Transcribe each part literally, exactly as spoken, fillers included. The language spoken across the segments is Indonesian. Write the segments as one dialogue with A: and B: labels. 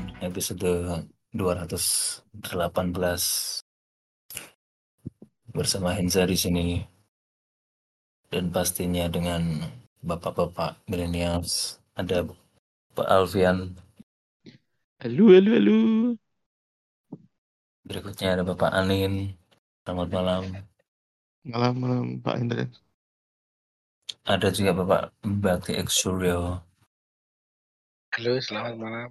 A: episode dua ratus delapan belas bersama Henza di sini dan pastinya dengan bapak-bapak millennials. Ada Pak Alfian,
B: Halo, halo, halo.
A: berikutnya ada Bapak Anin. Selamat malam.
B: Malam, malam, Pak Hendra.
A: Ada juga Bapak Bakti X Suryo.
C: Halo, selamat malam.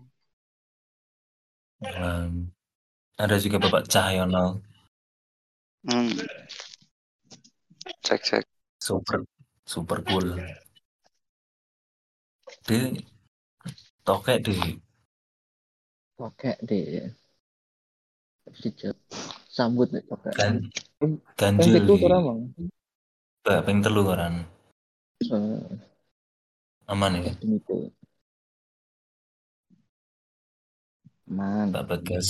A: Malam. Ada juga Bapak Cahyono.
D: Hmm. Cek cek.
A: Super super cool. Di tokek di
E: Tokek deh. Sijat. Sambut nek tokek.
A: kan
E: Ping
A: ganjil
E: pitu
A: di
E: ora mang.
A: Mbak ping telu koran.
E: Eh,
A: Aman ya
E: itu. Man,
A: Pak Bagas.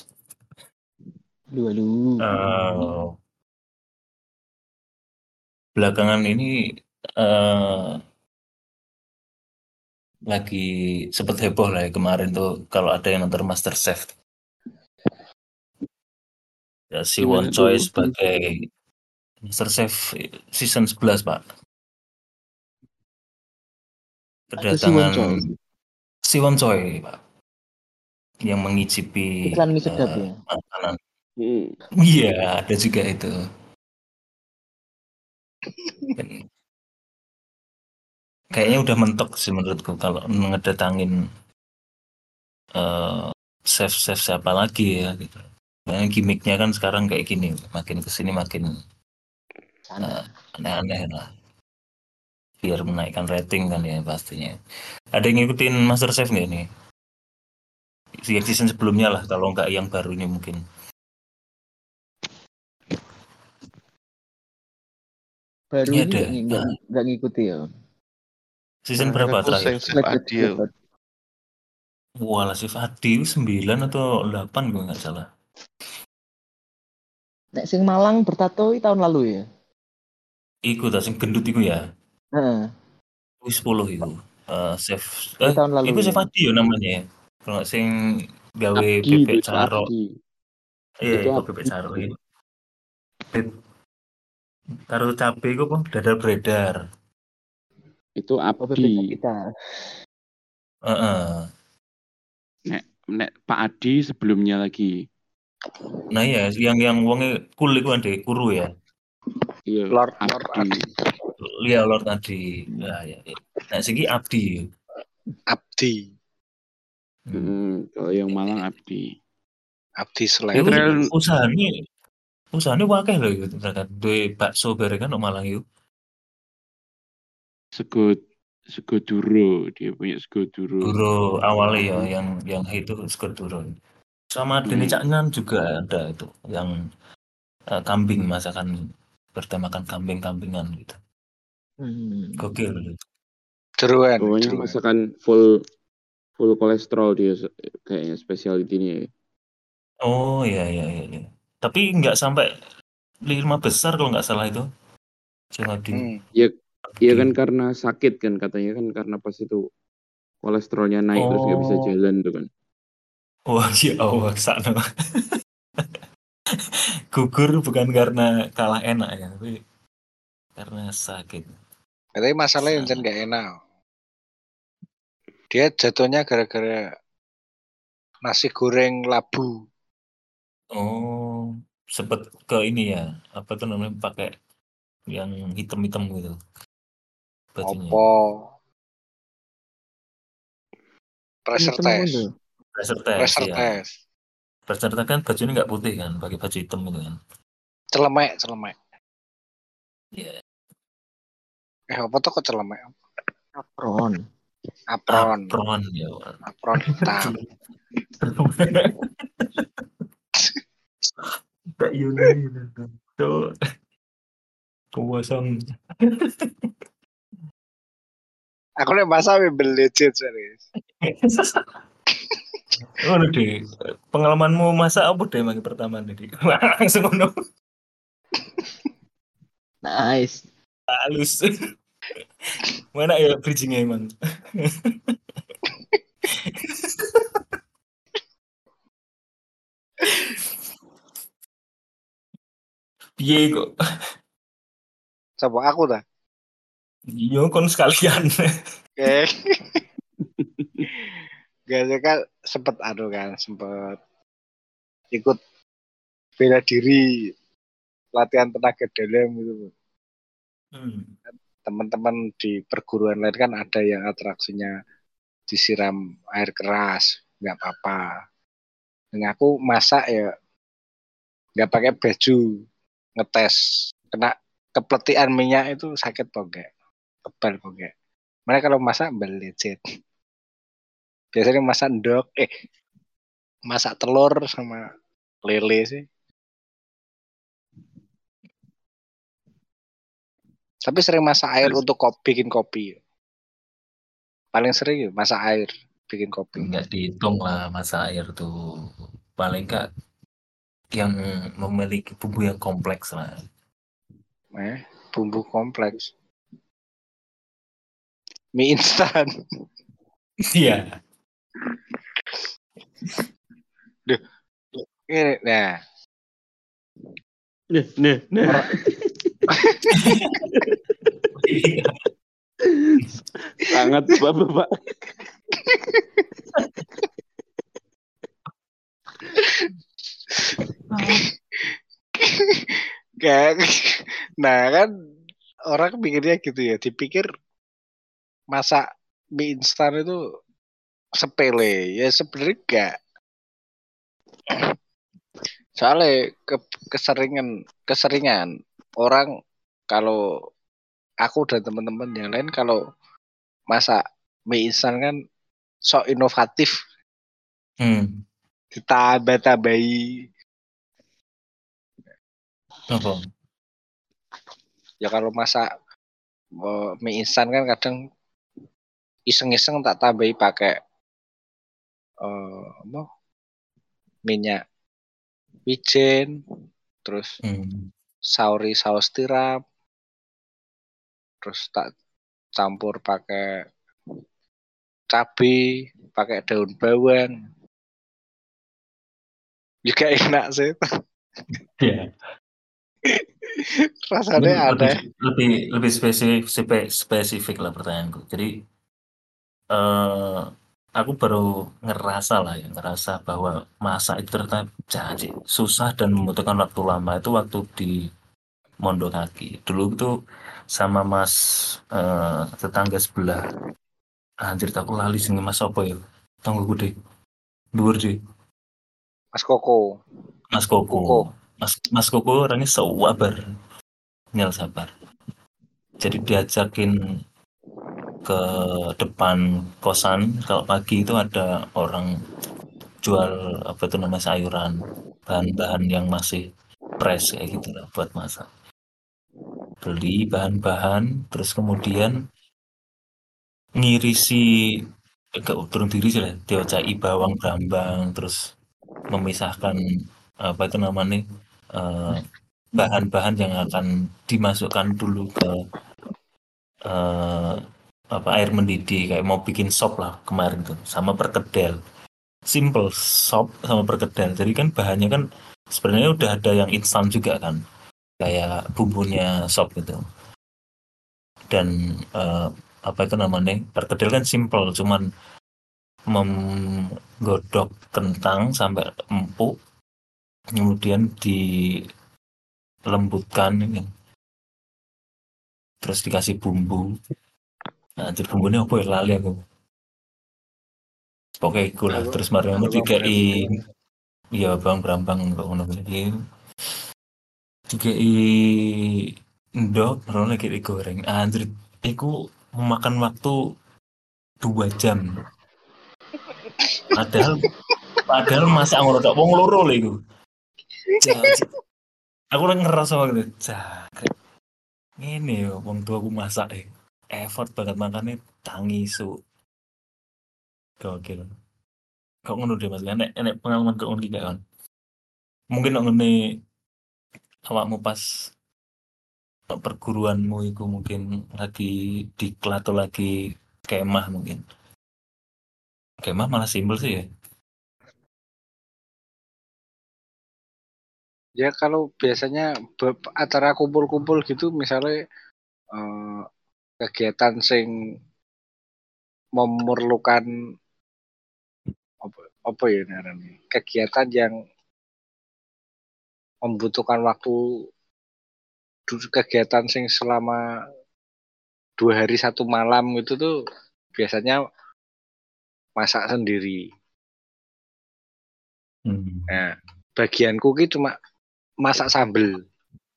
E: lu lu.
A: Eh, belakangan ini eh, lagi sempet heboh lah ya kemarin tuh kalau ada yang nonton MasterChef. Ya, si Won
B: Gimana
A: Choi
B: tuh?
A: sebagai MasterChef season sebelas, Pak.
E: Ada si Won
A: Kedatangan
E: Choi.
A: si Won Choi, Pak, yang mengicipi
E: Iklan mie sedap
A: eh,
E: ya.
A: makanan.
B: Hmm.
A: Iya, ada juga itu. Dan kayaknya udah mentok sih menurutku kalau ngedatangin eh, chef-chef siapa lagi ya gitu. Karena gimmicknya kan sekarang kayak gini, makin kesini makin
E: Sana.
A: eh, aneh-aneh lah. Biar menaikkan rating kan ya pastinya. Ada yang ngikutin MasterChef nggak nih? Season sebelumnya lah, kalau nggak yang baru ini mungkin.
E: Baru
A: Ini
E: ini
A: ada.
E: nggak ng- nggak
A: Nah,
E: nggak ngikuti ya.
A: season
D: Nah,
A: berapa
D: aku
A: terakhir?
D: sing Chef Adil.
A: Wah, Chef Adi sembilan atau delapan gue nggak salah.
E: Nek sing Malang bertato i tahun lalu ya.
A: Iku tak sing gendut iku ya.
E: Heeh.
A: Wis sepuluh itu. Eh Chef
E: Itu
A: eh
E: tahun lalu
A: iku Chef
E: ya.
A: Adi ya namanya ya. Kalau nggak sing gawe
B: Abdi
A: bebek
B: itu
A: caro.
B: Abdi.
A: Iya,
B: Itu
A: iku
B: Abdi.
A: bebek caro itu. Karo cabe iku apa? Dadar beredar.
B: Itu
E: Oh, bebek
B: Abdi.
E: kita.
A: Heeh.
B: Nek, nek Pak Adi sebelumnya lagi.
A: Nah ya, yang yang wonge cool iku ade kuru ya.
B: Iya,
C: Lord Lord
B: Abdi.
C: Adi.
A: Lia Lord tadi. Nah, ya. Nah, segi Abdi.
C: Abdi.
A: Hmm.
B: Hmm, kalau yang Malang Abdi.
C: Abdi
A: Iku
C: selain
B: Trail-
A: usahane usahane wakeh lho iku ternyata duwe bakso bareng kan nang Malang iku.
B: Sego Sego Duro, dia punya Sego Duro.
A: Duro awalnya ya yang yang itu skor duro. Sama Deni
B: Hmm.
A: Caknan juga ada itu yang eh, kambing masakan bertemakan kambing-kambingan gitu.
E: Hmm.
A: Gokil.
C: Jeruan.
B: Pokoknya
C: Jeruan.
B: masakan full full kolesterol dia se- kayaknya specialty-nya.
A: Oh iya iya iya. iya. Tapi nggak sampai lima besar kalau nggak salah itu. Jangan di.
C: Hmm.
B: Ya, ya
A: di-
B: kan karena sakit kan katanya kan karena pas itu kolesterolnya naik terus nggak bisa
A: Oh.
B: jalan tuh kan.
A: Wah ya Allah sana. Gugur bukan karena kalah enak ya, tapi karena sakit.
C: Tapi masalahnya yang nggak enak. Dia jatuhnya gara-gara nasi goreng labu.
A: Oh, sempet ke ini ya, apa tuh namanya pakai yang hitam-hitam gitu. Bajunya.
C: Opo. Pressure
E: Hitam
C: test.
E: itu.
A: Pressure test
C: Pressure
A: ya.
C: test.
A: Pressure test kan bajunya nggak putih kan, pakai baju hitam gitu kan.
C: Celemek, celemek.
A: Iya.
C: Eh, apa tuh kok celemek?
E: Apron.
C: Apron.
A: Apron ya.
C: Apron hitam.
A: Tak Yuni tuh. Kosong.
C: Aku nih masa beli legit serius.
A: Oh deh, pengalamanmu masa apa deh yang pertama nih? Langsung ngono.
E: Nice.
A: Halus. Mana ya bridging-nya emang? Piye kok?
C: Sama aku dah.
A: Yo kon sekalian.
C: Oke. Gak kan sempet anu kan, sempet ikut bela diri latihan tenaga dalam gitu.
A: Hmm.
C: Teman-teman di perguruan lain kan ada yang atraksinya disiram air keras, nggak apa-apa. Dan aku masak ya nggak pakai baju, ngetes kena kepletian minyak itu sakit kok enggak, tebal kok enggak. Mana kalau masak belicit. Biasanya masak endok, eh masak telur sama lele sih. Tapi sering masak air untuk kopi, bikin kopi. Paling sering ya masak air bikin kopi.
A: Enggak dihitung lah masa air tuh. Paling enggak yang memiliki bumbu yang kompleks lah.
C: Eh, bumbu kompleks. Mie instan.
A: Iya.
C: Duh. Ini nah.
B: Nih, nih, nih. Sangat bapak-bapak.
C: Kayak nah kan orang pikirnya gitu ya, dipikir masak mie instan itu sepele. Ya sebenarnya enggak. Soalnya ke, keseringan keseringan orang kalau aku dan teman-teman yang lain kalau masak mie instan kan sok inovatif,
A: Hmm.
C: ditambah-tambahi.
A: Apa?
C: Ya kalau masak uh, mie instan kan kadang iseng-iseng tak tambahi pakai uh, apa? Minyak wijen, terus
A: Hmm.
C: sauri saus tiram, terus tak campur pakai cabai, pakai daun bawang. Juga enak sih.
A: Iya.
C: Rasanya
A: lebih
C: aneh.
A: lebih lebih spesifik spe- spesifik lah pertanyaanku. Jadi eh aku baru ngerasa lah ya ngerasa bahwa masak itu ternyata jadi susah dan membutuhkan waktu lama itu waktu di Mondokaki. Dulu itu sama mas eh, tetangga sebelah. Anjir aku lali sing mas apa ya? Tanggo gede. Dhuwur sih.
C: Mas Koko.
A: Mas Koko.
C: Koko.
A: Mas Mas Koko orangnya sabar. Nyel sabar. Jadi diajakin ke depan kosan kalau pagi itu ada orang jual apa itu namanya sayuran bahan-bahan yang masih fresh kayak gitu lah buat masak beli bahan-bahan terus kemudian ngirisi agak turun diri sih lah diocai bawang brambang terus memisahkan apa itu namanya eh, bahan-bahan yang akan dimasukkan dulu ke eh, apa air mendidih kayak mau bikin sop lah kemarin tuh sama perkedel simple sop sama perkedel jadi kan bahannya kan sebenarnya udah ada yang instan juga kan kayak bumbunya sop gitu dan eh, apa itu namanya perkedel kan simple cuman menggodok kentang sampai empuk kemudian dilembutkan ini terus dikasih bumbu nah jadi bumbunya apa ya lali aku pokoknya iku lah terus mari ngono dikei iya bang brambang kok ngono iki dikei ndok baru lagi digoreng anjir iku memakan waktu dua jam padahal padahal masa ngono tok wong loro lho iku Ja- aku udah ngerasa waktu itu jangkrik ngene yo wong tua aku masak eh effort banget makannya tangi su gokil kok ngono deh mas enek enek pengalaman kok ngono iki gak kan mungkin kok ngene awakmu pas perguruanmu itu mungkin lagi diklat atau lagi kemah mungkin kemah malah simpel sih ya
C: Ya kalau biasanya be- acara kumpul-kumpul gitu misalnya eh, kegiatan sing memerlukan apa, apa ya namanya? Kegiatan yang membutuhkan waktu du- kegiatan sing selama dua hari satu malam gitu tuh biasanya masak sendiri.
A: Hmm.
C: Nah, bagianku ki cuma masak sambel.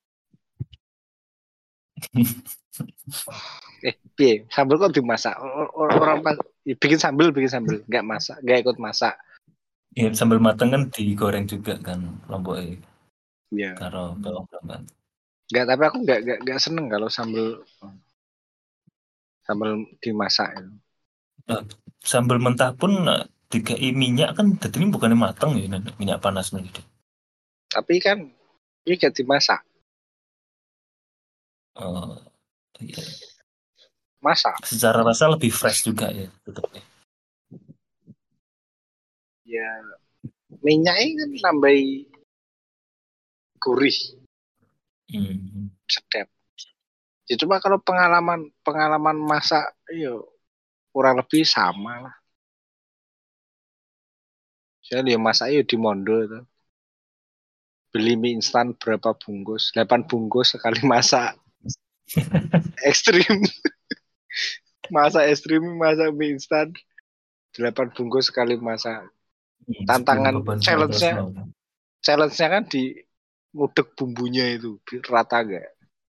C: Eh, piye? Sambel kok dimasak? Or- or- Orang pas bikin sambel, bikin sambel, nggak masak, nggak ikut masak.
A: Ya, sambil mateng kan digoreng juga kan lomboknya
C: Ya,
A: karo bawang bombay.
C: nggak. Tapi aku nggak nggak nggak seneng kalau sambel sambel dimasak. Itu.
A: Nah, sambal mentah pun eh, dikai minyak kan jadi ini bukannya mateng ya Nan? Minyak panas nih gitu.
C: Tapi kan ini nggak dimasak,
A: Oh, iya.
C: masak.
A: Secara rasa lebih fresh juga ya tetapnya.
C: Ya, minyaknya kan nambahi gurih,
A: Hmm.
C: sedap. Ya cuma kalau pengalaman pengalaman masak, yo kurang lebih sama lah. Saya dia masak yo di Mondo itu. Beli mie instan berapa bungkus? delapan bungkus sekali masak. Ekstrim. Masak ekstrim, masak mie instan. delapan bungkus sekali masak.
A: Hmm,
C: Tantangan
A: beban
C: challenge-nya
A: sembilan belas mau.
C: challenge-nya kan di ngudek bumbunya itu biar rata gak?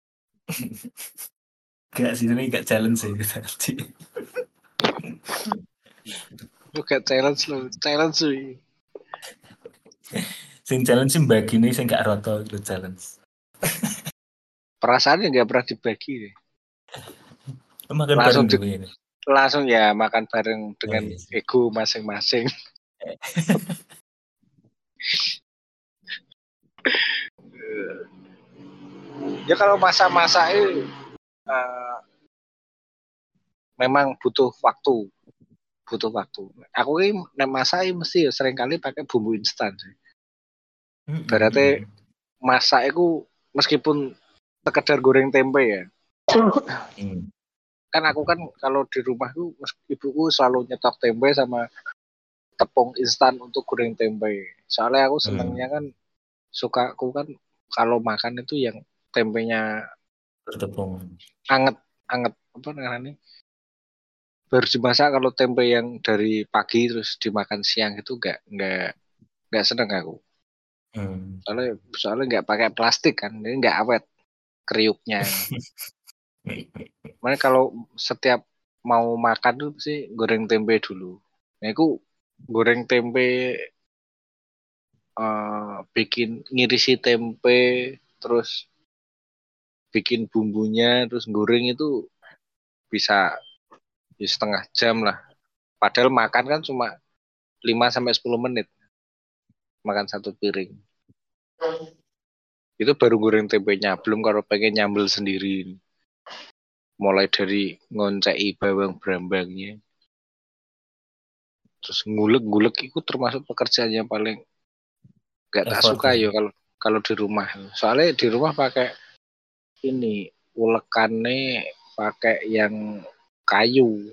A: Gak sih ini gak challenge sih tadi.
C: Lu gak challenge lo, challenge sih.
A: Sing challenge sih bagi ini sing gak roto itu challenge.
C: Perasaannya gak pernah dibagi deh.
A: Makan
C: Langsung
A: bareng
C: di,
A: gitu ini.
C: langsung ya makan bareng
A: Oh,
C: dengan
A: iya sih.
C: ego masing-masing. Ya kalau masa-masa itu uh, memang butuh waktu, butuh waktu. Aku ini nek masak mesti ya sering kali pakai bumbu instan sih.
A: Hmm,
C: Berarti
A: hmm,
C: masak itu meskipun sekedar goreng tempe ya.
A: hmm.
C: Kan aku kan kalau di rumah tuh ibuku selalu nyetok tempe sama tepung instan untuk goreng tempe. Soalnya aku senengnya kan suka aku kan kalau makan itu yang tempenya
A: Bertepung.
C: anget anget apa namanya baru dimasak. Kalau tempe yang dari pagi terus dimakan siang itu nggak nggak nggak seneng aku.
A: Hmm.
C: Soalnya soalnya nggak pakai plastik kan, ini nggak awet kriuknya. Makanya kalau setiap mau makan tuh sih goreng tempe dulu. Nah, aku goreng tempe uh, bikin ngirisi tempe terus bikin bumbunya terus goreng itu bisa ya, setengah jam lah. Padahal makan kan cuma lima sampai sepuluh menit makan satu piring. Itu baru goreng tempenya, belum kalau pengen nyambel sendiri. Mulai dari ngoncei bawang brambangnya. Terus ngulek-ngulek itu termasuk pekerjaan yang paling gak tak
A: Effort
C: suka
A: ya.
C: ya kalau kalau di rumah. Soalnya di rumah pakai ini ulekannya pakai yang kayu.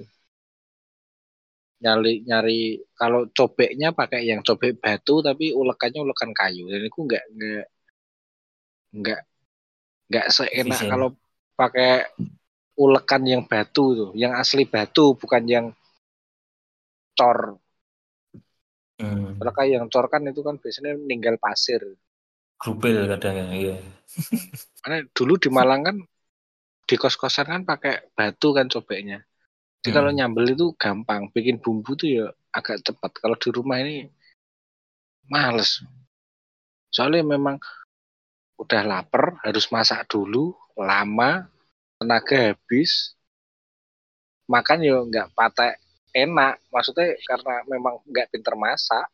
C: Nyari nyari kalau cobeknya pakai yang cobek batu tapi ulekannya ulekan kayu. Dan itu nggak nggak nggak nggak seenak
A: Efisien.
C: kalau pakai ulekan yang batu tuh, yang asli batu bukan yang cor.
A: Hmm.
C: Kalau kayak yang cor kan itu kan biasanya ninggal pasir.
A: Krupil kadang ya. Iya.
C: Karena dulu di Malang kan di kos-kosan kan pakai batu kan cobeknya. Jadi
A: Hmm.
C: kalau nyambel itu gampang, bikin bumbu tuh ya agak cepat. Kalau di rumah ini males. Soalnya memang udah lapar, harus masak dulu, lama, tenaga habis, makan ya nggak patek enak. Maksudnya karena memang nggak pinter masak.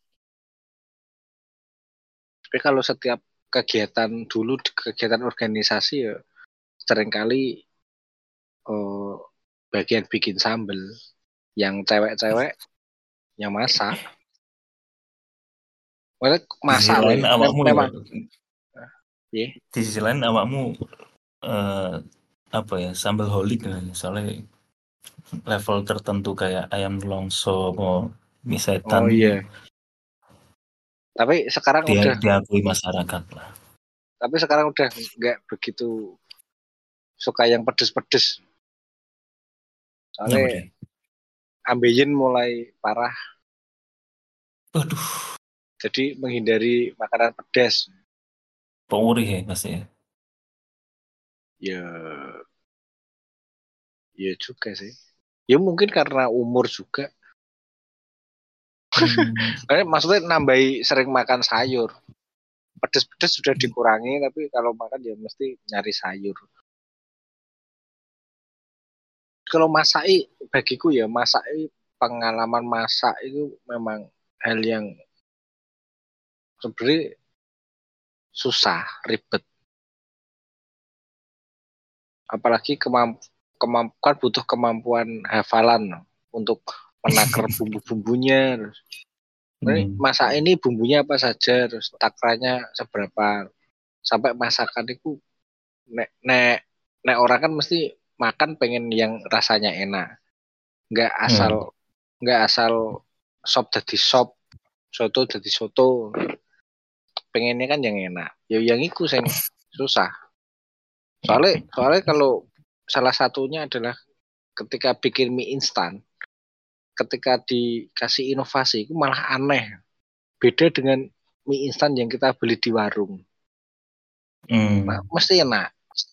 C: Tapi kalau setiap kegiatan dulu, kegiatan organisasi ya seringkali oh, bagian bikin sambel, yang cewek-cewek yang masak. Maksudnya
A: Di sisi
C: masak loh
A: lain
C: ya. Mem-
A: awakmu ya
C: memang Iya.
A: Di sisi lain awakmu eh, apa ya sambal holik kan soalnya level tertentu kayak ayam longso mau mie
C: Oh
A: setan
C: iya.
A: ini
C: Tapi sekarang
A: dia
C: udah,
A: diakui masyarakat lah.
C: tapi sekarang udah nggak begitu suka yang pedes-pedes.
A: Apa
C: Soalnya
A: deh?
C: ambeien mulai parah,
A: Waduh,
C: jadi menghindari makanan pedas.
A: perih ya pasti ya.
C: Ya, ya juga sih. Ya mungkin karena umur juga.
A: Hmm,
C: Kayak maksudnya nambahi sering makan sayur. Pedes-pedes sudah dikurangi, tapi kalau makan ya mesti nyari sayur. Kalau masak bagiku ya masak pengalaman masak itu memang hal yang sebenarnya susah, ribet. Apalagi kemamp kemampuan butuh kemampuan hafalan untuk menakar bumbu-bumbunya. Ini
A: hmm,
C: masak ini bumbunya apa saja, terus takarannya seberapa. Sampai masakan itu nek nek nek orang kan mesti makan pengen yang rasanya enak. Nggak
A: hmm.
C: asal nggak asal sop jadi sop, soto jadi soto. Pengennya kan yang enak. Ya yang itu yang susah. Soalnya soalnya kalau salah satunya adalah ketika bikin mie instan, ketika dikasih inovasi itu malah aneh. Beda dengan mie instan yang kita beli di warung.
A: Hmm.
C: Nah, mesti enak.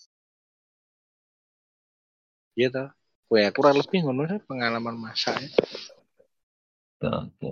C: Iya toh. Gue kurang lebih ngono sih pengalaman masaknya.
A: Oke.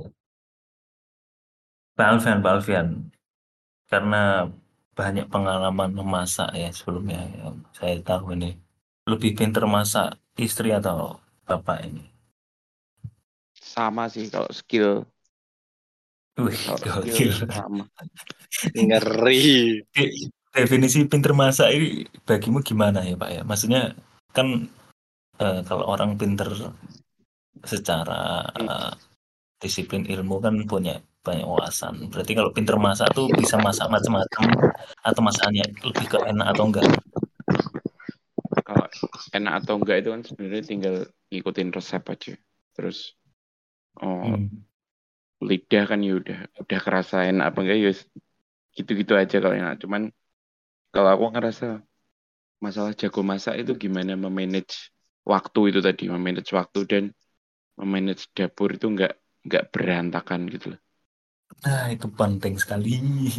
A: Pak Alfian, Pak Alfian, karena banyak pengalaman memasak ya sebelumnya yang saya tahu ini lebih pintar masak istri atau bapak ini.
B: Sama sih kalau skill.
A: Wih,
B: Kalau
A: gokil.
B: skill sama.
C: Ngeri.
A: De- Definisi pintar masak ini bagimu gimana ya Pak ya? Maksudnya kan eh, kalau orang pintar secara eh, disiplin ilmu kan punya banyak wawasan. Berarti kalau pintar masak tuh bisa masak macam-macam atau masakannya lebih ke enak atau enggak?
B: Kalau enak atau enggak itu kan sebenarnya tinggal ngikutin resep aja. Terus oh,
A: Hmm.
B: lidah kan ya udah udah kerasa enak apa enggak ya gitu-gitu aja kalau enak. Cuman kalau aku ngerasa masalah jago masak itu gimana memanage waktu itu tadi, memanage waktu dan memanage dapur itu enggak enggak berantakan gitu loh.
A: Nah, itu penting sekali.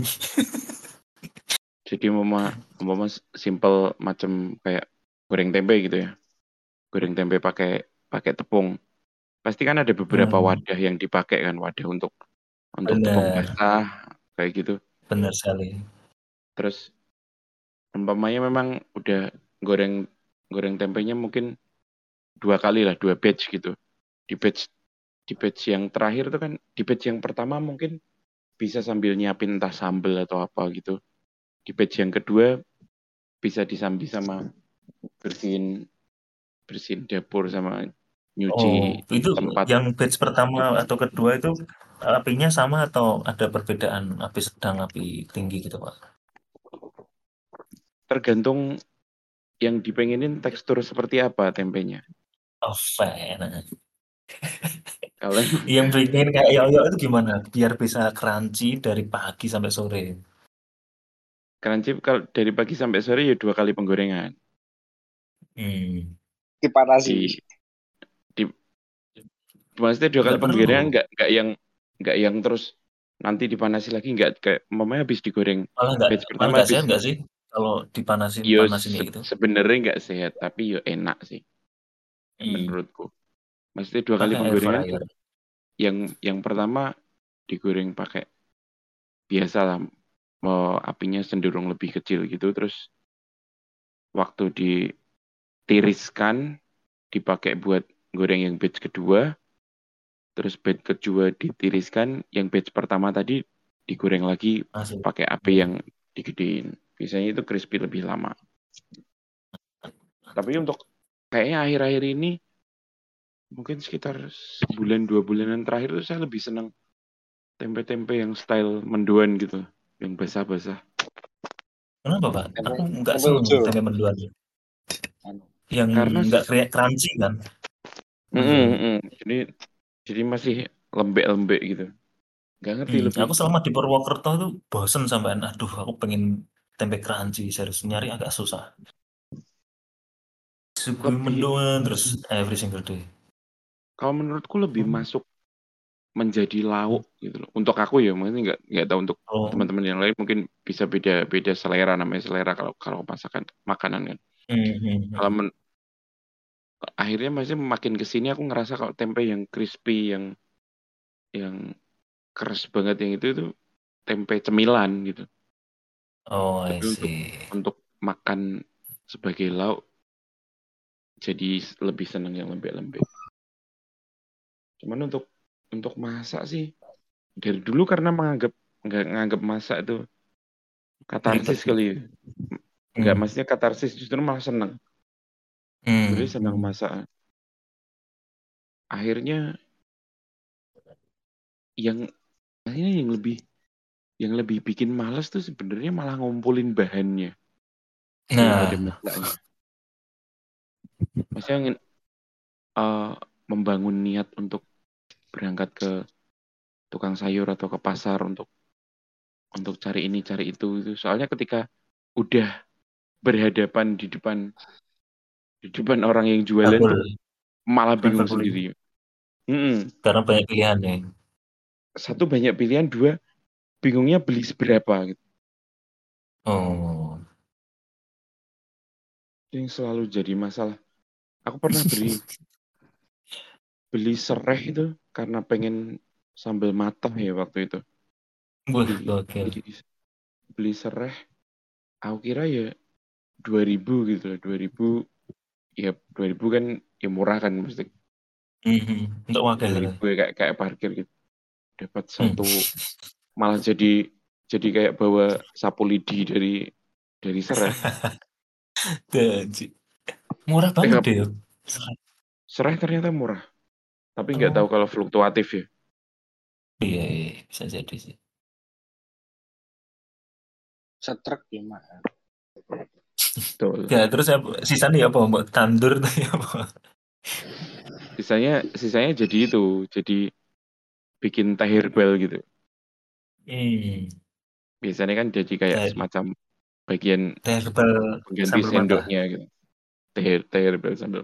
B: Jadi umpama umpama simple macam kayak goreng tempe gitu ya. Goreng tempe pakai pakai tepung. Pasti kan ada beberapa
A: Hmm,
B: wadah yang dipakai kan, wadah untuk untuk tepung
A: benar,
B: basah kayak gitu.
A: benar sekali.
B: Terus umpamanya memang udah goreng goreng tempenya mungkin dua kali lah, dua batch gitu. Di batch di batch yang terakhir itu kan di batch yang pertama mungkin bisa sambil nyiapin entah sambel atau apa gitu. Di batch yang kedua bisa disambi sama bersihin bersihin dapur sama
A: Oh,
B: nyuci
A: itu
B: tempat.
A: yang batch pertama atau kedua itu apinya sama atau ada perbedaan api sedang, api tinggi gitu, Pak?
B: Tergantung yang dipengenin tekstur seperti apa tempenya.
A: Oh, fan.
B: Kalau
A: Yang bikin kayak yoyo itu gimana? Biar bisa crunchy dari pagi sampai sore.
B: crunchy kalau dari pagi sampai sore ya dua kali penggorengan.
A: Hmm,
C: Dipanasi.
B: Di di maksudnya dua kali
A: nggak
B: penggorengan
A: perlu.
B: nggak nggak yang nggak yang terus nanti dipanasi lagi nggak kayak mamanya habis digoreng
A: Malah nggak,
B: batch
A: malah
B: pertama
A: nggak sehat
B: habis
A: nggak sih? Kalau dipanasin,
B: yo
A: panasin kayak
B: se-
A: gitu.
B: sebenarnya nggak sehat tapi yo enak sih
A: Hmm,
B: menurutku. Maksudnya dua kali
A: pakai air
B: penggorengan tuh
A: fryer.
B: yang yang pertama digoreng pakai biasa lah mau apinya cenderung lebih kecil gitu terus waktu ditiriskan dipakai buat goreng yang batch kedua terus batch kedua ditiriskan yang batch pertama tadi digoreng lagi
A: Masih.
B: pakai api yang digedein biasanya itu crispy lebih lama tapi untuk kayaknya akhir-akhir ini mungkin sekitar sebulan dua bulanan terakhir itu saya lebih senang tempe-tempe yang style mendoan gitu yang basah-basah
A: Kenapa, Pak?
C: Tempe
A: Aku nggak
C: tempe
A: seneng
C: ujo.
A: tempe mendoan.
C: Anu.
A: Yang
B: Karena
A: nggak
B: s-
A: kayak crunchy kan.
B: mm,
A: Iya.
B: mm, jadi jadi masih lembek-lembek gitu. Gak ngerti
A: Hmm,
B: lebih
A: aku selama di Purwokerto tuh bosen sampai aduh aku pengen tempe crunchy serius nyari agak susah. Suguhi
B: lebih
A: mendoan terus every single day.
B: kalau menurutku lebih
A: Hmm.
B: masuk menjadi lauk gitu loh. Untuk aku ya, mungkin nggak nggak tahu untuk
A: Oh.
B: teman-teman yang lain mungkin bisa beda beda selera, namanya selera kalau kalau masakan makanan kan.
A: Hmm, hmm, hmm.
B: Kalau men- akhirnya masih makin kesini aku ngerasa kalau tempe yang crispy yang yang keras banget yang itu itu tempe cemilan gitu.
A: Oh, I
B: Tapi untuk
A: see.
B: untuk makan sebagai lauk jadi lebih senang yang lembek-lembek. Cuman untuk untuk masak sih dari dulu karena menganggap nggak nganggap masak itu
A: Ribet
B: katarsis
A: gitu.
B: kali ya. Nggak,
A: Hmm.
B: maksudnya katarsis, justru malah seneng.
A: Hmm.
B: Sebenarnya senang
A: Hmm.
B: masak. Akhirnya yang akhirnya yang lebih yang lebih bikin males tuh sebenarnya malah ngumpulin bahannya daripada
A: Nah,
B: masaknya. Maksudnya ingin eh, membangun niat untuk berangkat ke tukang sayur atau ke pasar untuk untuk cari ini cari itu itu. Soalnya ketika udah berhadapan di depan di depan orang yang jualan tuh
A: double,
B: malah bingung
A: traveling.
B: sendiri. Mm-mm.
A: Karena banyak pilihan ya.
B: Satu, banyak pilihan. Dua, bingungnya beli seberapa gitu.
A: Oh.
B: Yang selalu jadi masalah. Aku pernah beli beli serai itu karena pengen sambal matah ya waktu itu.
A: Wah,
B: Beli
A: gokil.
B: beli beli serai, aku kira ya dua ribu gitu loh. Dua ribu, ya dua ribu kan ya murah kan, mesti
A: Mhm. Untuk wakil
B: dua
A: itu.
B: ribu ya kayak kayak parkir gitu. Dapat
A: Hmm.
B: satu, malah jadi jadi kayak bawa sapu lidi dari dari serai.
A: Gaji. Murah banget
B: Eh,
A: deh.
B: serai ternyata murah, tapi nggak tahu
A: Oh,
B: kalau fluktuatif ya.
A: iya, iya, bisa jadi sih.
C: Setrek gimana?
B: Betul.
A: Ya, terus apa, sisanya ya apa? Mbak tandur tuh ya apa?
B: Sisanya sisanya jadi itu, jadi bikin teh herbal gitu.
A: Hmm.
B: Biasanya kan jadi kayak
A: Dari
B: semacam bagian
A: teh herbal
B: pengganti
A: sambal mata.
B: sendoknya gitu. Teh, teh herbal sambil.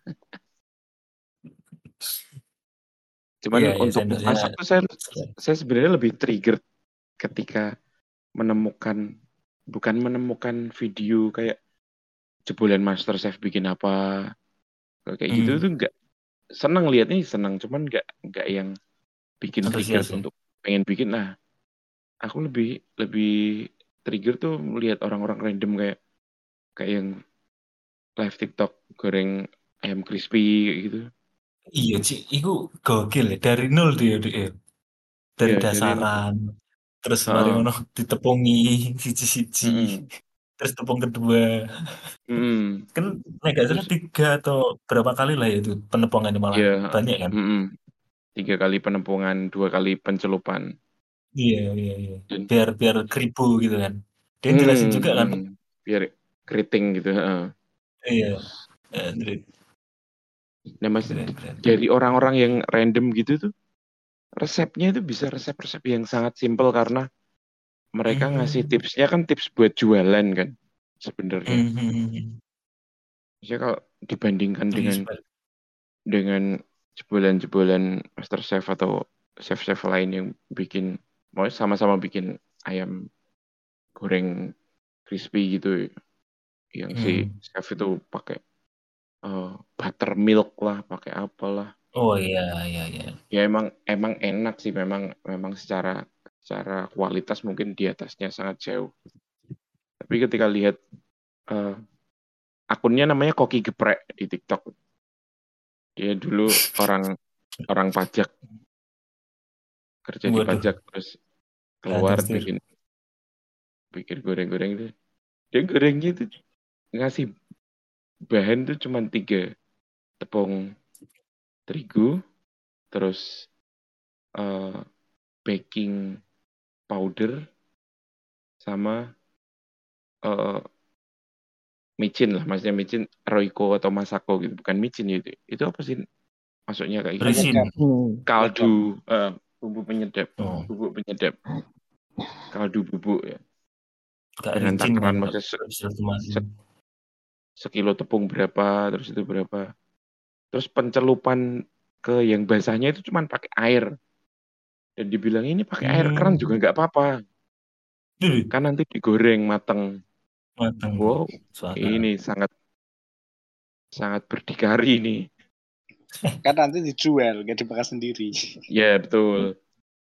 B: Cuman
A: Iya, iya,
B: untuk
A: sendoknya.
B: masak tuh saya saya sebenarnya lebih trigger ketika menemukan, bukan menemukan video kayak jebolan MasterChef bikin apa kayak gitu
A: Hmm.
B: tuh nggak seneng liatnya, seneng, cuman nggak nggak yang bikin trigger
A: Antusias ya.
B: untuk pengen bikin. Nah, aku lebih lebih trigger tuh melihat orang-orang random kayak kayak yang live TikTok goreng ayam crispy kayak gitu.
A: Iya, Ci. Itu gokil ya. Dari nol dia, dia. Dari
B: Ya dari nol.
A: dasaran. Terus mari
B: Heeh.
A: ngono ditepungi siji-siji.
B: Mm-mm.
A: Terus tepung kedua.
B: Mm-mm.
A: Kan nek gak salah
B: Terus
A: tiga atau berapa kali lah ya itu penepungannya malah
B: ya,
A: banyak kan.
B: mm-mm. Tiga kali penepungan, dua kali pencelupan.
A: Iya, iya, iya.
B: Dan
A: Biar biar keribu gitu kan. Dia jelasin
B: mm,
A: juga kan.
B: mm, biar keriting gitu. Heeh.
A: Iya. Eh, Andre,
B: Nah, mas,
A: keren, keren.
B: dari orang-orang yang random gitu tuh, resepnya itu bisa resep-resep yang sangat simpel karena mereka ngasih
A: Hmm.
B: tipsnya kan tips buat jualan kan sebenarnya.
A: Hmm, hmm, hmm, hmm.
B: Maksudnya kalau dibandingkan
A: Iya,
B: dengan
A: Pak.
B: dengan jebolan-jebolan MasterChef atau chef-chef lain yang bikin, mau sama-sama bikin ayam goreng crispy gitu, yang si
A: Hmm.
B: chef itu pakai eh, buttermilk lah, pakai apalah.
A: Oh iya, iya, iya.
B: Ya emang emang enak sih, memang memang secara secara kualitas mungkin di atasnya sangat jauh. Tapi ketika lihat eh, akunnya namanya Koki Geprek di TikTok. Dia dulu orang orang pajak, kerja di
A: Waduh,
B: pajak, terus keluar
A: terus terus.
B: bikin bikin goreng-goreng itu. Dia gorengnya itu ngasih bahan tuh cuma tiga: tepung terigu, terus eh, baking powder, sama eh, micin lah, maksudnya micin Royco atau Masako gitu, bukan micin itu. Itu apa sih maksudnya kayak gitu?
A: Berisin.
C: Penyedap.
E: Hmm.
B: Kaldu, eh, bumbu penyedap,
A: Oh,
B: bubuk penyedap, kaldu bubuk ya.
A: gak
B: Dengan
A: ricin kan,
B: takaran
A: gak
B: maksudnya se-
A: bisa kemasin.
B: se- sekilo tepung berapa, terus itu berapa. Terus pencelupan ke yang basahnya itu cuma pakai air. Dan dibilang ini pakai air keran juga
A: Hmm.
B: nggak apa-apa.
A: Duh,
B: Kan nanti digoreng mateng.
A: matang.
B: Wow,
A: Suaka.
B: ini sangat sangat berdikari nih.
C: Kan nanti dijual, gak dimakan sendiri.
B: Ya betul.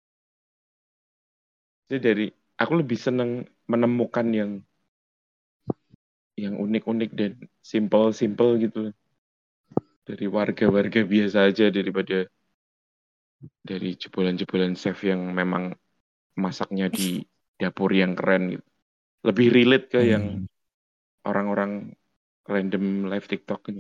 B: Jadi dari aku lebih seneng menemukan yang yang unik-unik dan simple-simple gitu dari warga-warga biasa aja daripada dari jebolan-jebolan chef yang memang masaknya di dapur yang keren gitu. Lebih relate ke yang
A: Hmm.
B: orang-orang random live TikTok ini.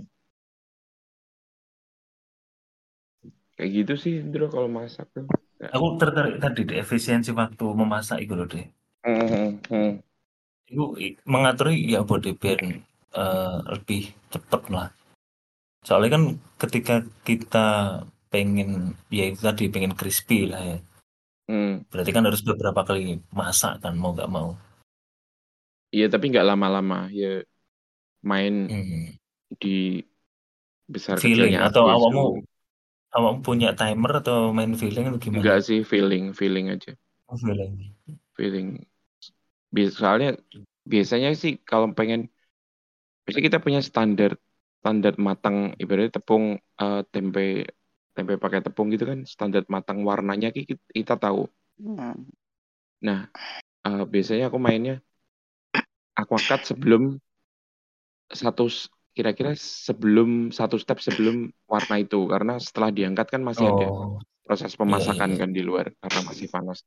B: Kayak gitu sih, Indro, kalau masak tuh. Ya.
A: Aku tertarik tadi di efisiensi waktu memasak itu loh deh.
B: Hmm, hmm,
A: Itu i- mengatur ya body biar eh, lebih cepet lah. Soalnya kan ketika kita pengen ya itu tadi pengen crispy lah ya.
B: hmm.
A: Berarti kan harus beberapa kali masak kan mau nggak mau.
B: Iya, tapi nggak lama-lama. Ya main
A: Hmm.
B: di besar
A: Feeling
B: kecilnya
A: atau
B: api
A: awakmu
B: itu.
A: awakmu punya timer atau main feeling atau gimana?
B: Enggak sih, feeling, feeling aja.
A: Oh, feeling.
B: Feeling. Bias- Soalnya biasanya sih kalau pengen, biasanya kita punya standar standar matang, ibaratnya tepung eh, tempe tempe pakai tepung gitu kan, standar matang warnanya ki- kita, kita tahu.
D: Hmm.
B: Nah, eh, biasanya aku mainnya aquacut sebelum satu s- kira-kira sebelum satu step sebelum warna itu, karena setelah diangkat kan masih ada
A: Oh,
B: proses
A: iya iya
B: pemasakan
A: iya.
B: kan di luar karena masih panas.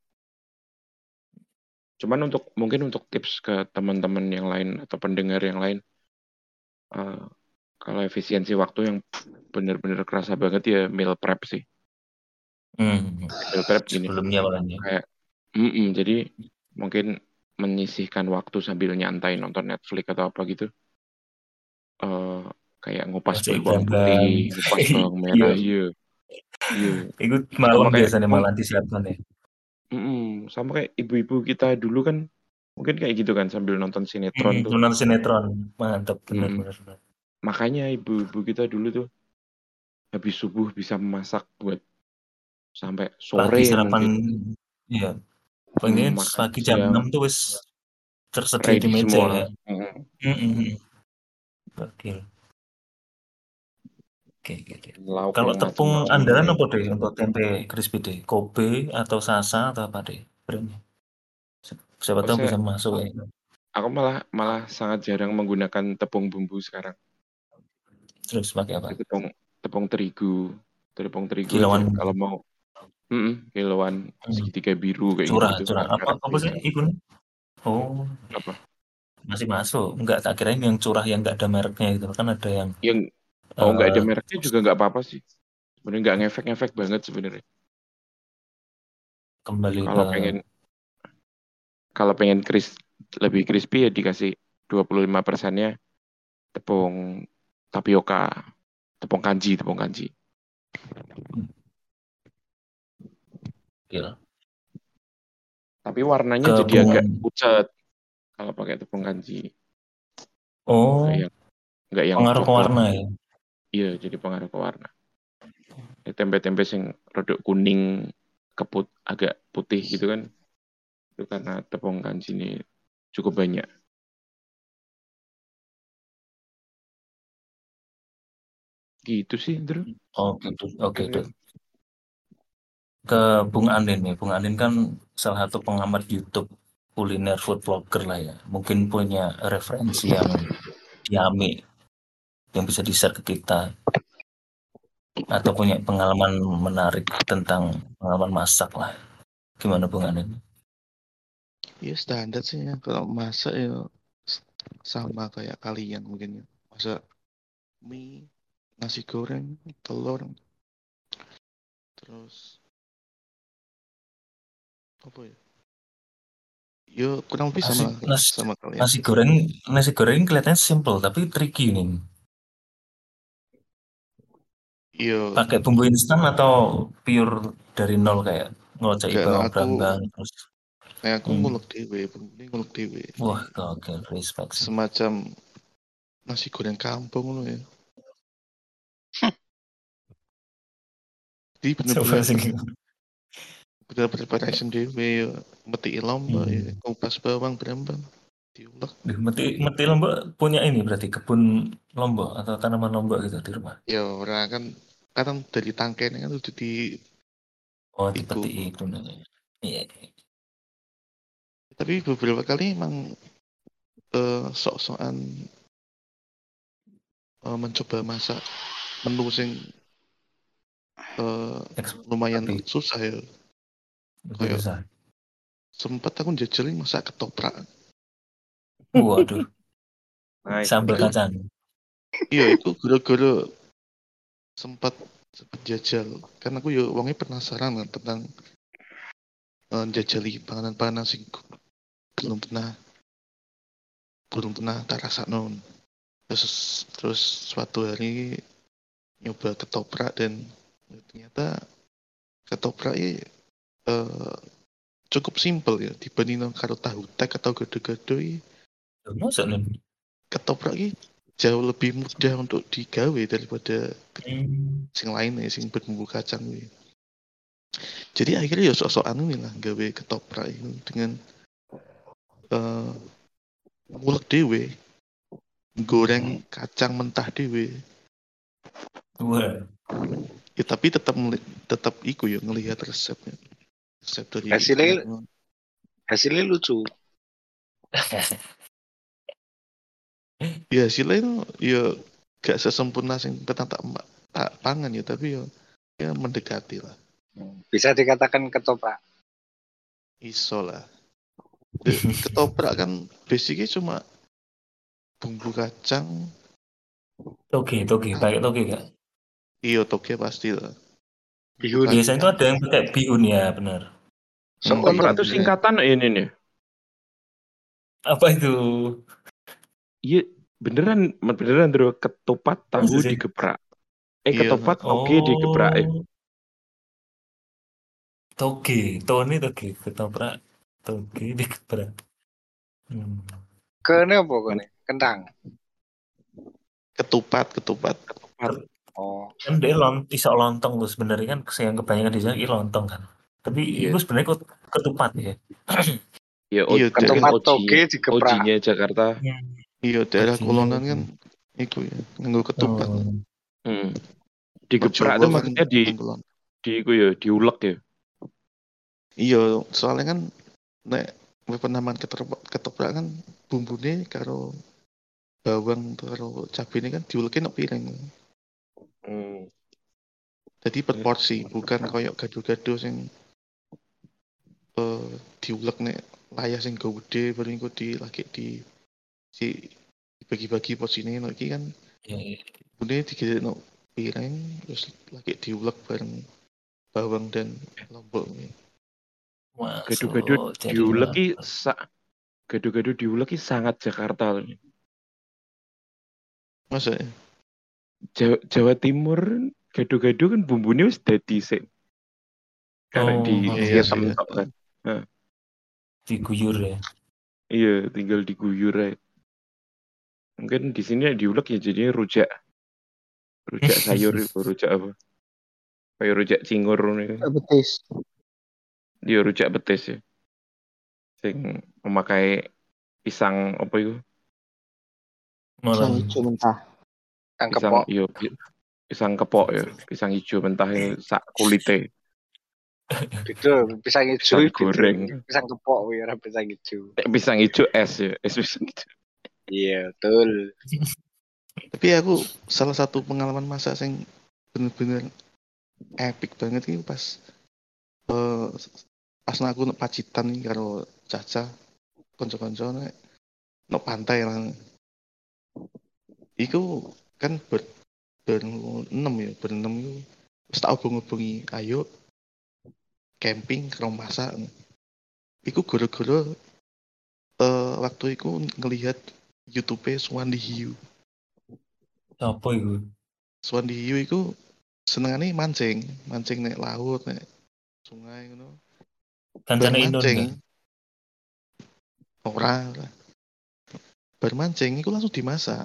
B: Cuman untuk mungkin untuk tips ke teman-teman yang lain atau pendengar yang lain, eh, kalau efisiensi waktu yang bener-bener kerasa banget ya meal prep sih.
A: Hmm.
B: Meal prep gini,
A: Sebelumnya makanya.
B: kayak mm-mm, jadi mungkin menyisihkan waktu sambil nyantai nonton Netflix atau apa gitu. eh kayak ngupas
A: Baca
B: bawang putih,
A: iklan-iklan.
B: ngupas bawang
A: Iya.
B: merah, iya, iya.
A: Itu
B: Sama
A: malam
B: kayak
A: biasanya
B: mung-
A: malah disiapkan ya.
B: mm-mm, sama kayak ibu-ibu kita dulu kan, mungkin kayak gitu kan sambil nonton sinetron
A: Hmm.
B: tuh.
A: Nonton sinetron. Mantap bener
B: Mm-mm.
A: bener. bener.
B: Makanya ibu-ibu kita dulu tuh habis subuh bisa masak buat sampai
A: Pagi
B: sore
A: sarapan
B: mungkin.
A: iya.
B: Mm,
A: Pengen
B: makan
A: pagi jam
B: siang
A: enam tuh wis tersedia di
B: ready
A: meja ya.
B: semua. Mm,
A: Mm-mm. Oke. Oke, oke, oke.
B: lauk
A: Kalau
B: yang
A: tepung
B: macam-macam
A: andalan
B: kayak
A: apa
B: gitu.
A: deh untuk tempe crispy deh? Kobe atau Sasa atau apa deh? Brandnya. Si- Siapa
B: Oh,
A: tahu
B: saya
A: bisa masuk ya.
B: aku malah malah sangat jarang menggunakan tepung bumbu sekarang.
A: Terus pakai apa?
B: Jadi tepung tepung terigu, tepung terigu aja.
A: Kilauan.
B: Kalau mau mm kiloan
A: Hmm.
B: segitiga biru kayak
A: Curah,
B: gitu-gitu,
A: curah. Apa
B: merek-merek
A: apa sih
B: biasa.
A: itu? Oh,
B: Apa?
A: masih masuk. Enggak, tak kirain yang curah yang enggak ada mereknya gitu. Kan ada yang
B: Yang oh nggak ada
A: eh
B: mereknya juga nggak apa-apa sih. Sebenarnya nggak ngefek-ngefek banget sebenarnya.
A: kembali ke
B: Kalau pengen kalau pengen kris lebih crispy ya dikasih dua puluh lima persennya tepung tapioka, tepung kanji, tepung kanji.
A: ya,
B: Tapi warnanya
A: ke
B: jadi
A: bunga.
B: agak pucat kalau pakai tepung kanji. Nggak
A: Oh,
B: yang nggak yang
A: pengaruh ke
B: coklat.
A: warna ya.
B: Iya, jadi pengaruh ke warna. Ya, tempe-tempe sing rodok kuning keput agak putih gitu kan. Itu karena tepung kanji ini cukup banyak. Gitu sih, Bro.
A: Oh, gitu. Oke,
B: Kira-kira.
A: tuh. Ke Bung Andin nih. Bung Andin kan salah satu pengamat YouTube kuliner food vlogger lah ya. Mungkin punya referensi yang yummy yang bisa di-share ke kita atau punya pengalaman menarik tentang pengalaman masak lah. Gimana Bung Andin?
D: Ya standar sih ya. Kalau masak ya s- sama kayak kalian mungkin ya. Masak mie, nasi goreng, telur, terus apa ya? Yo kurang lebih
A: Nasi,
D: sama
A: nasi,
D: sama kalian.
A: nasi goreng, nasi goreng kelihatannya simple tapi tricky nih.
D: Yo
A: Pakai bumbu instan atau pure dari nol kayak ngocek
D: enggak, nah
A: bawang
D: aku
A: brambang terus.
D: nah aku
A: Hmm.
D: ngulek dewe, ini ngulek dewe.
A: Wah, oke, respect sih.
D: Semacam nasi goreng kampung loh ya. Jadi
A: Coba
D: bener-bener
A: sih.
D: bener preparation dewe ya. Meti lombok ya,
A: Hmm.
D: kupas bawang brambang, diulek.
A: Duh, meti, meti Lombok punya ini berarti kebun Lombok atau tanaman Lombok gitu di rumah.
D: Ya orang kan kadang dari tangkainya kan udah di
A: Oh,
D: iku.
A: dipetik itu namanya. Iya.
D: Tapi beberapa kali emang eh, sok-sokan eh, mencoba masak menu sing eh,
A: Eks-
D: lumayan
A: Lebih,
D: susah ya.
A: lebih
D: Kayak
A: susah.
D: sempat aku jajalin masak ketoprak.
A: Waduh,
B: Nice,
A: sambal
B: nice.
A: kacang.
D: Iya, itu gara-gara sempat sempat jajal. Karena aku ya wongnya penasaran kan tentang eh, jajali panganan-panganan sing belum pernah belum pernah tak rasa non. Terus terus suatu hari nyoba ketoprak dan ternyata ketoprak ini eh, cukup simpel ya dibanding karo tahu tek atau gado-gado ini.
A: Masa nih?
D: Ketoprak ini jauh lebih mudah untuk digawe daripada
A: Hmm.
D: sing lain ya sing berbumbu kacang ini. Jadi akhirnya ya sok-sokan ini lah gawe ketoprak ini dengan uh, ngulek dewe, goreng kacang mentah dewe.
A: Wah,
D: Ya tapi tetap tetap iku ya ngelihat resepnya. Resep dari
C: Hasilnya
D: ibu.
C: hasilnya lucu.
D: Ya hasilnya itu ya gak sesempurna sing petang tak tak pangan ya tapi ya ya mendekati lah.
C: Bisa dikatakan ketoprak.
D: Iso lah. De- Ketoprak kan basicnya cuma bumbu kacang,
A: toge, toge, pakai toge gak?
D: iya toge pasti lah. Bumbu
C: Bihun.
A: Biasanya itu
D: kacang.
A: ada yang pakai bihun ya, benar.
C: So,
D: Hmm,
B: Ketoprak
C: ono
B: itu
D: bihunnya.
B: singkatan ini nih.
A: Apa itu?
B: Iya, beneran, beneran bro. Ketupat
A: Masa
B: tahu
A: sih?
B: digeprak. Eh,
D: Iya.
B: ketupat toge digeprak. Eh.
A: Oh, toge, Tony toge, ketoprak, toge dikeprak. Hmm.
C: kene apa kene? Kentang.
D: Ketupat, ketupat.
B: Ketupat.
C: Oh,
A: Kan dia lont, iso lontong tuh sebenarnya kan yang kebanyakan di sana ini lontong kan. Tapi
B: Iya.
A: itu sebenarnya kut- ketupat ya.
B: Ya, o-
D: Iya,
B: kan
C: ketupat
B: O G-nya,
C: toge digeprak.
B: O G-nya Jakarta.
D: Iya, daerah
A: Bajinya
D: Kulonan
A: itu.
D: kan itu ya, nganggo ketupat.
A: Oh,
B: Hmm.
D: Kalau
B: Digeprak
D: Jawa
B: itu
D: kan
B: maksudnya di
D: nganggo lon.
B: di iku ya, diulek ya.
D: Iya, soalnya kan nek penamaan ketoprak, ketoprak kan bumbune karo bawang karo cabene kan diulekin nang piring.
B: Hmm.
D: Jadi per porsi, bukan koyok gado-gado sing eh diulek nek layah sing go gede baru iku di lagi di si dibagi-bagi porsinya nek iki kan
A: iya, iya.
D: bune digede nang piring terus lagi diulek bareng bawang dan lombok.
B: Gado-gado
A: Masuk jadi
B: diulek ki
A: lapar.
B: sa gado-gado diulek ki sangat Jakarta loh.
D: Masa ya?
B: Jawa, Jawa Timur gado-gado kan bumbunya wis dadi sik. Karena
A: Oh,
B: di
D: Iya
B: hitam
D: sih.
B: tok kan. Nah,
A: diguyur ya.
B: iya, tinggal diguyur aja. Mungkin di sini diulek ya jadinya rujak. Rujak sayur itu, rujak apa? Kayak rujak cingur nih.
E: Betis.
B: Dia rujak betis ya. Sing memakai pisang apa itu?
E: Pisang
A: Malah
E: hijau mentah.
C: Kang
B: Pisang
C: kepok.
B: iya, pi- pisang kepok ya, pisang hijau mentah ya, sak kulite,
C: Beda, pisang hijau
B: pisang
C: beda.
B: goreng.
C: Pisang kepok ya, ora pisang hijau.
B: Eh, pisang hijau es ya, es pisang hijau.
C: Iya, betul.
D: Tapi aku salah satu pengalaman masak sing bener-bener epic banget ini pas eh pas aku nek Pacitan nih karo Caca kanca-kanca nek nek pantai lah. Iku kan ber berenam ya, berenam itu wis tak obong-obongi ayo camping karo masak. Iku gara-gara eh, waktu itu ngelihat YouTube Swandi Hiu.
A: Apa itu?
D: Swandi Hiu itu senengane mancing, mancing nek laut, nek sungai ngono. Bar
A: Kancane Inun
D: mancing,
A: kan?
D: ora, ora. Bar mancing itu langsung dimasak.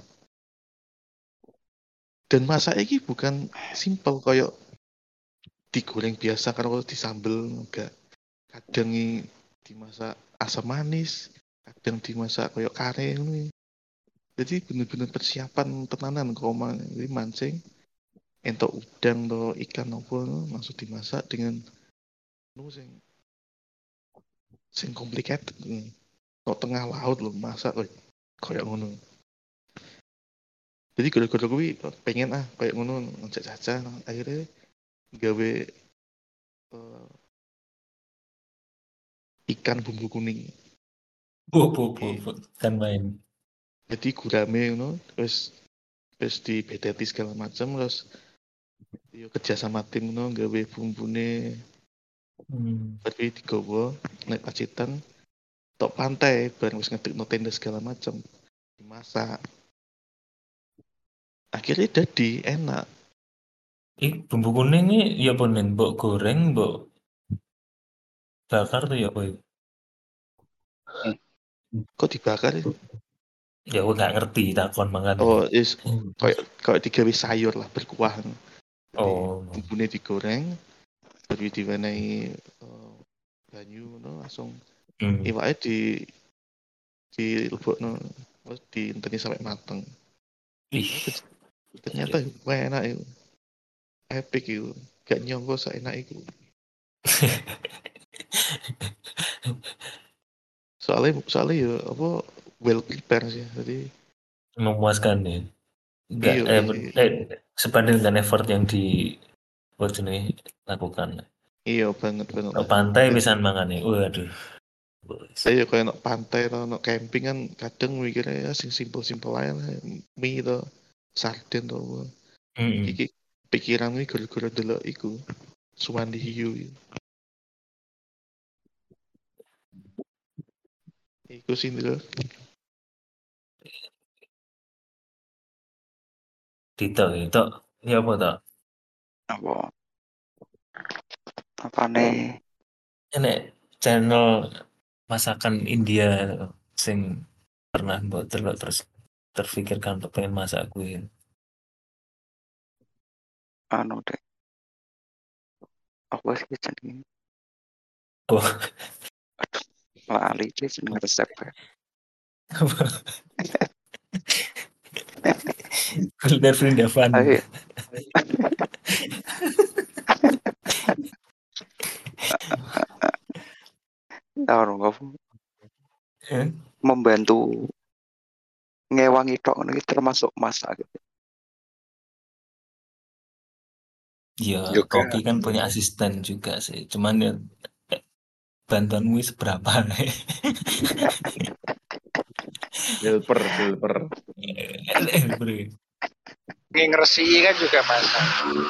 D: Dan masak iki bukan simple koyo digoreng biasa karo disambel enggak. Kadang i dimasak asam manis, kadang dimasak koyo kare ngono. Jadi bener-bener persiapan tenanan kok omah. Jadi mancing entok udang atau ikan apa langsung dimasak dengan nu sing sing complicated. Kok tengah laut lho masak koyo koyo ngono. Jadi gara-gara kuwi pengen ah kayak ngono ngajak Caca akhirnya gawe eh, ikan bumbu kuning.
A: Bu, bu, bu, bu. Kan main.
D: Jadi gurame ngono terus terus dibedeti segala macam terus yo kerja sama tim ngono gawe bumbune
A: Hmm.
D: tapi digowo nek pacitan tok pantai bareng wis ngedekno tenda segala macam dimasak. Akhirnya jadi enak.
A: Ih, bumbu kuning ini ya apa nen? Mbok goreng, mbok bakar tuh ya apa itu?
D: Kok dibakar ya?
A: Ya aku nggak ngerti takon makan.
D: Oh, is kayak kayak digawe sayur lah berkuah. Jadi
A: Oh.
D: bumbune digoreng, baru diwenehi uh, banyu no langsung
A: Hmm.
D: iwake di dilebokno terus diinteni sampai mateng.
A: Ih.
D: Ternyata wah enak itu. Epic itu. Gak nyongko seenak itu. Soalnya soalnya ya apa well prepared sih. Jadi
A: Memuaskan ya. Enggak
D: iya
A: eh,
D: di-
A: eh sebanding dengan effort yang di buat ini lakukan.
D: iya banget banget
A: Ke
D: lah.
A: pantai
D: Dan
A: pisan mangane. Waduh.
D: saya kayak nak pantai atau nak camping kan kadang mikirnya ya sing simpel-simpel aja lah. Mie atau sarden atau apa.
A: Mm-mm.
D: Iki pikiran ini gara-gara delok iku Suwandi Hiu. Iku sih lho.
A: Dito itu ya apa tak?
E: Apa? Apa nih?
A: Ini channel masakan India sing pernah buat delok terus terfikirkan untuk pengen masak kuwi.
E: Anu deh. Apa sih jenenge?
A: Oh,
E: Lali sih jenenge resepnya.
A: kuliner Vrindavan.
E: Ayo. Anu apa?
A: Eh?
E: Membantu ngewangi tok ini termasuk masak gitu.
A: Ya,
C: Juga.
A: Koki kan punya asisten juga sih. Cuman ya eh, bantuanmu seberapa?
B: Helper, helper.
C: Yang ngeresi kan juga masak.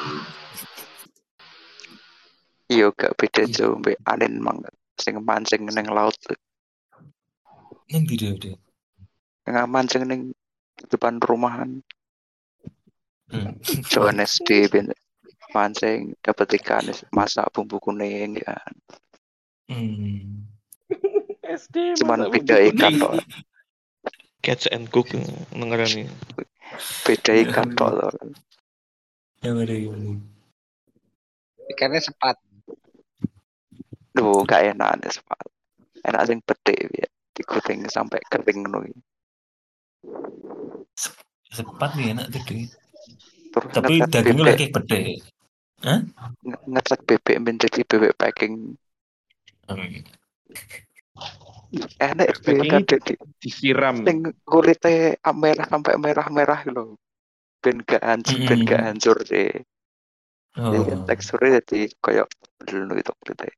E: Iya gak beda jauh mbek Anin mang sing mancing neng laut.
A: Yang video deh.
E: Yang mancing neng depan rumahan.
A: Hmm.
E: Jawan S D ben mancing dapat ikan masak bumbu kuning ya.
A: Hmm.
B: S D
E: Cuman
B: masa
E: beda
B: bumbu
E: ikan
B: kuning.
E: tok.
D: Catch and cook nengerani.
E: Beda ikan tok.
A: Yang ada yang
C: Ikannya sepat.
E: Duh, gak enak nih sepat. Enak sing pedhe ya. Digoreng sampai kering ngono.
A: sepat nih enak tuh deh.
E: Terus
A: Tapi
E: ngecat
A: dagingnya
E: bebek,
A: lagi gede. Hah?
E: nge- ngecat bebek menjadi bebek packing.
A: Hmm.
E: Enak sih
B: Packingnya
E: tadi.
B: disiram.
E: Sing kulitnya merah sampai merah-merah loh. Ben gak hancur, ben gak
A: Mm-mm.
E: hancur deh. Jadi kan
A: Oh.
E: teksturnya jadi kayak dulu itu kulitnya.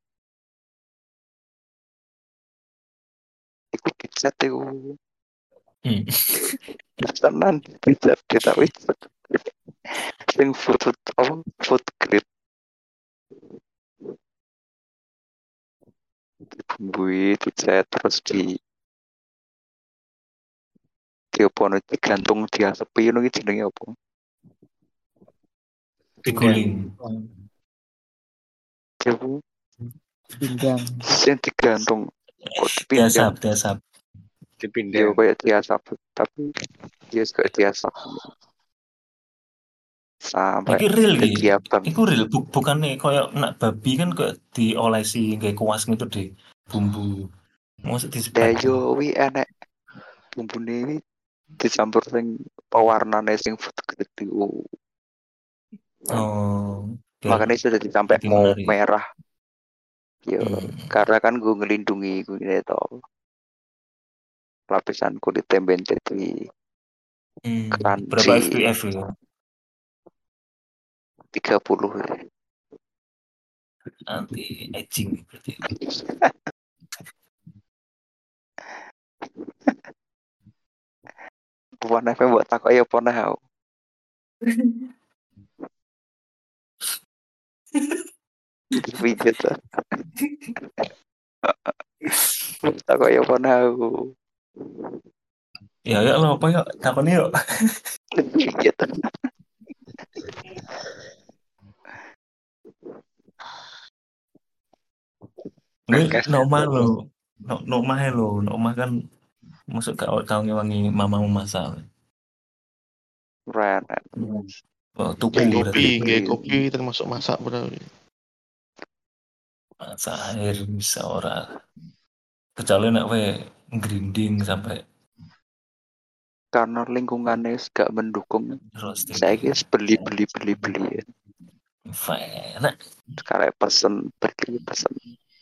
E: Iku pizza tuh.
A: Hmm.
E: Tenan pizza kita pizza. Sing food food apa food grade. Dibumbui, dicat terus di diopo no digantung diasepi ngono iki jenenge apa?
A: Diguling.
E: Jawu
F: Pinggang.
E: sing digantung kok dipindang.
A: Diasap, diasap.
E: Yo
C: Dipindang.
E: kayak diasap tapi dia juga diasap sampai
A: Iki real iki.
E: dadi abang.
A: Iku real bu bukannya koyo nak babi kan koyo diolesi nggae kuas gitu deh. Bumbu. Mosok
E: Ya
A: disebat.
E: yo wi enek bumbune ini dicampur sing pewarnane sing gede.
A: Oh. biar
E: Makanya itu jadi sampai
A: lebih
E: mau
A: menarik.
E: merah. Yo,
A: Hmm.
E: karena kan gue ngelindungi gue itu lapisan kulit temben jadi
A: Hmm.
E: crunchy.
A: Berapa F P S ya?
E: tiga puluh ya.
A: Anti aging berarti.
E: Bukan apa buat takut ya pernah hau. Pijat. Takut ya pernah hau.
A: Ya ya lo apa ya? Takon yuk.
E: Pijat.
A: Nggak normal lo. No, normal lo, normal kan masuk ke kau ngewangi mamamu masak.
E: Ren.
A: Oh, tuku
E: Beli,
A: berarti.
D: Kopi,
E: beli.
D: nggak kopi termasuk masak bro.
A: Masak air bisa ora. Kecuali nak we grinding sampai
E: Karena lingkungannya gak mendukung.
A: roasting.
E: Saya guys beli beli beli beli.
A: Enak.
E: Sekarang pesen beli pesen.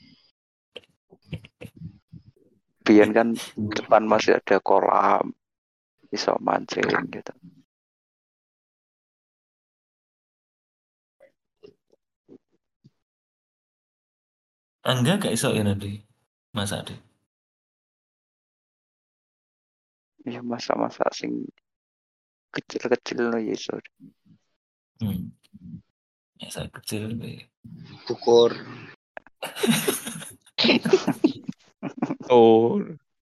E: Biar kan depan masih ada kolam, bisa mancing gitu.
A: Enggak gak iso ya nanti masak deh.
E: Ya masa-masa sing kecil-kecil no ya iso.
A: Hmm. Masak kecil deh.
C: Bukur.
B: Oh,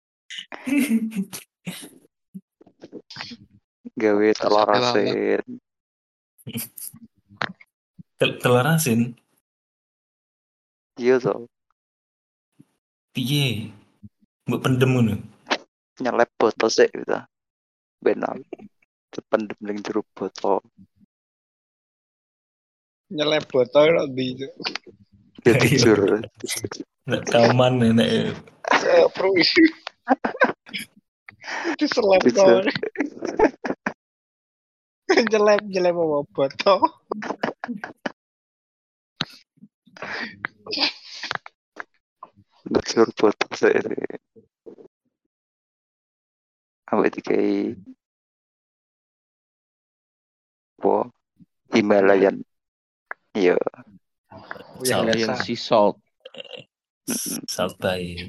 E: Gawe telur
D: Sate lalat.
E: asin.
A: Tel- telur asin.
E: Iya toh.
A: Piye? Mbok pendem ngono.
E: Nyelep botol sih gitu. Benar. Pendem ning jero botol.
C: Nyelep botol kok di itu.
E: Ya
A: Iya.
E: jujur.
A: Nek kauman nek
C: Fruisi. Diselep
E: Jujur.
C: kok. Nyelep nyelep apa botol.
E: Jujur botol sih. Awet dikai po Himalayan. Iya.
C: Yang
B: Himalayan
C: biasa.
B: sea salt.
A: salt bay.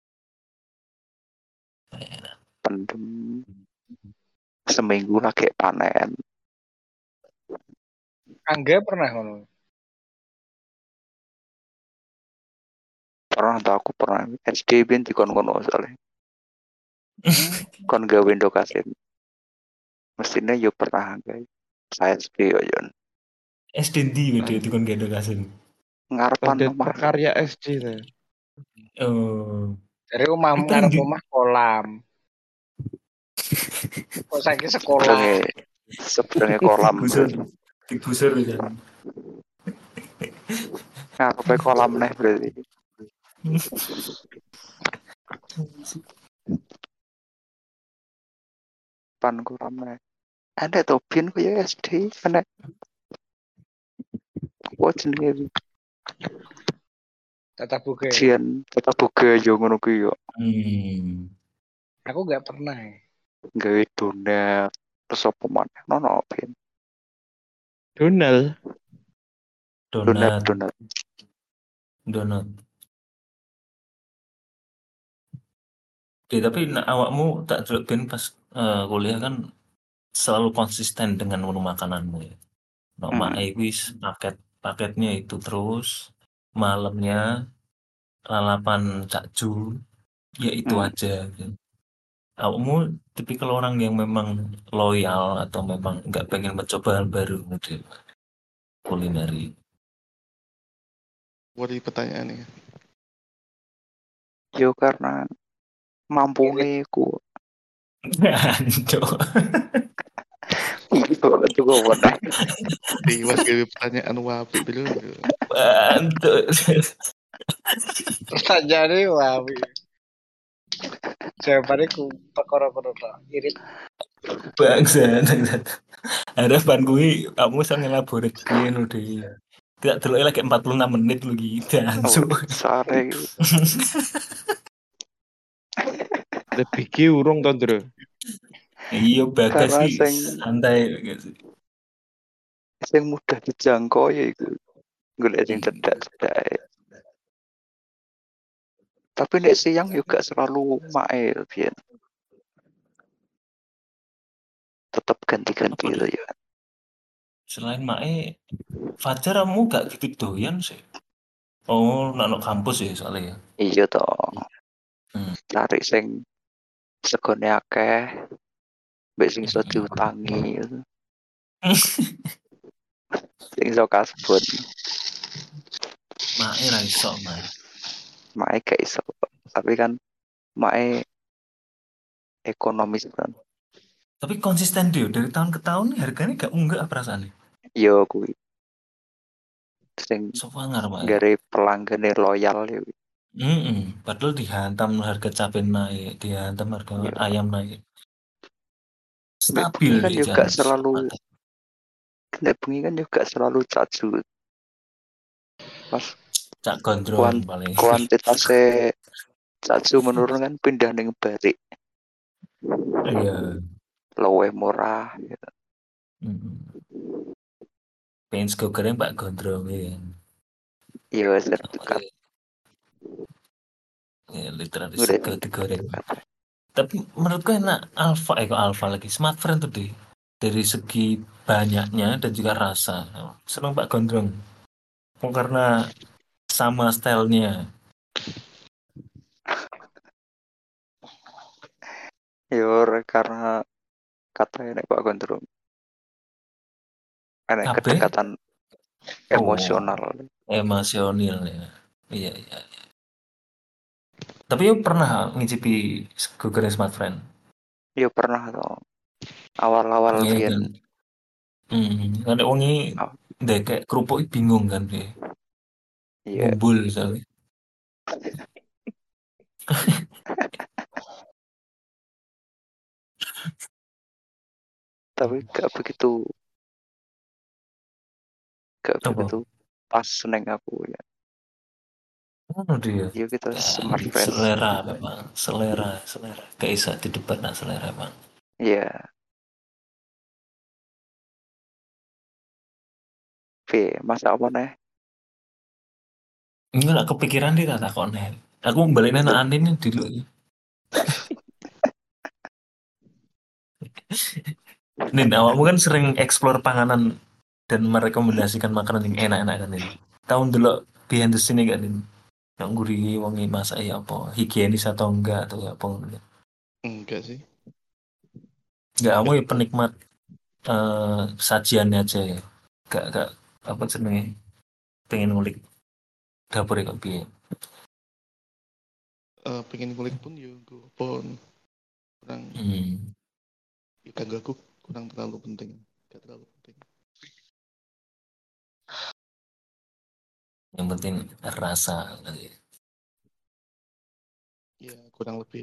E: Pendem seminggu lagi panen.
C: Angga pernah ngono.
E: Pernah tau aku pernah S D ben dikon-kono soalnya. Kon gawe ndokasin. Mestinya yo pernah guys. Saya S D yo Yon.
A: S D ndi video dikon gendong asin.
E: Ngarepan
B: Pada
E: omah.
B: prakarya S D lah.
A: Oh.
C: Dari omah
A: Itu
C: ngarep
A: di-
C: omah kolam. Kok saiki sekolah.
E: Sebenarnya sebenarnya kolam.
A: Digusur. Digusur kan.
E: Ngarepe kolam neh berarti. Pan kolam neh. Ada topin ku ya S D ana. What jenenge
C: Tetap buka.
E: jian tetap buka yo ngono ku yo.
A: Hmm.
C: Aku nggak pernah. Ya.
E: Gawe donat terus apa maneh nono pin.
B: Donald.
E: Donat
A: Donat.
E: donat.
A: Donat. Oke, tapi nah, awakmu tak delok ben pas eh, kuliah kan selalu konsisten dengan menu makananmu ya. No,
E: Hmm.
A: mak wis paket paketnya itu terus malamnya lalapan cakju ya itu
E: Hmm.
A: aja. Kamu tipikal orang yang memang loyal atau memang nggak pengen mencoba hal baru mungkin kulineri?
D: Wari pertanyaannya.
E: Yo karena mampu
C: Irit.
E: ku.
A: Ancok.
E: Itu itu gue pernah.
D: Dewas gawe pertanyaan wapi dulu.
A: Bantu.
C: Pertanyaannya wah. Jawabannya ku perkara-kara tok. Irit.
A: Bangsa. Harapan gue kamu bisa ngelaborat piye no deh. Tidak terlalu lagi empat puluh enam menit lagi
E: Oh,
A: ancok.
E: sare gitu.
B: Lebih ki urung to, Ndro.
A: Iya bagas
E: Karena
A: sih
E: sing
A: santai gitu.
E: sing mudah dijangkau ya itu. Golek sing
A: Iya.
E: cedak-cedak. Tapi nek siang juga selalu mail biyen. Tetap ganti-ganti
A: Apa
E: itu
A: deh?
E: ya.
A: Selain Mae, Fajar kamu gak gitu doyan sih. Oh, nak no kampus ya soalnya ya.
E: Iya toh.
A: Hmm.
E: Cari sing segone akeh, mbek sing iso
A: Hmm.
E: diutangi gitu. Sing iso kasbon.
A: Mae ra iso, Mae.
E: Mae gak iso. Tapi kan Mae ekonomis kan.
A: Tapi konsisten dia dari tahun ke tahun harganya gak unggah perasaannya.
E: Yo kuwi. Sing
A: Sofangar, Mae.
E: gare pelanggane loyal ya.
A: Mm-mm. Padahal dihantam harga cabai naik, dihantam harga
E: Yo.
A: ayam naik.
E: Mbek
A: Stabil
E: bengi kan
A: di
E: juga
A: jalan.
E: selalu Mbek bengi kan juga selalu caju. Pas
A: Cak gondrong
E: kuant
A: paling.
E: kuantitasnya caju menurun kan pindah ning balik.
A: Iya.
E: Luwih murah gitu.
A: Mm-mm. Pengen sego goreng Pak Gondrong ya.
E: Iya sertifikat.
A: Ya, literally
E: Udah
A: sego digoreng. Tapi menurutku enak Alfa, eh kok Alfa lagi Smart Friend tuh deh. Dari segi banyaknya dan juga rasa. Seneng Pak Gondrong. Oh, karena sama stylenya.
E: Yo karena katanya nek Pak Gondrong ada
A: Kabeh
E: kedekatan
A: oh,
E: emosional.
A: emosional ya. Iya, iya. Tapi yuk pernah ngicipi sego goreng Smart Friend?
E: Yo pernah toh. Awal-awal
A: Iya
E: biyen.
A: kan. Hmm, kan wongi
E: Oh,
A: deh kayak kerupuk bingung kan deh.
E: iya.
A: Bumbul misalnya.
E: Tapi gak begitu gak
A: Apa?
E: begitu pas neng aku ya.
A: Oh dia.
E: Yo kita
A: Ya,
E: smart friend.
A: selera memang, selera, selera. Gak bisa didebat nak selera bang.
E: Iya. V, masa apa nih?
A: Ini gak kepikiran dia tak kok nih. Aku baliknya nak Anin ini dulu. Nin, awakmu kan sering explore panganan dan merekomendasikan makanan yang enak-enak kan ini. Tahun dulu behind the scene kan ini. Yang gurih, wangi masak ya apa, higienis atau enggak atau ya apa.
D: Enggak sih.
A: Enggak, kamu ya penikmat eh, sajiannya aja ya. Gak, gak, apa senengnya, pengen ngulik dapur ya kok piye.
D: Eh, pengen ngulik pun ya gue pun kurang
A: Hmm.
D: ya kagak aku kurang terlalu penting. Gak terlalu penting.
A: Yang penting rasa.
D: Ya kurang lebih.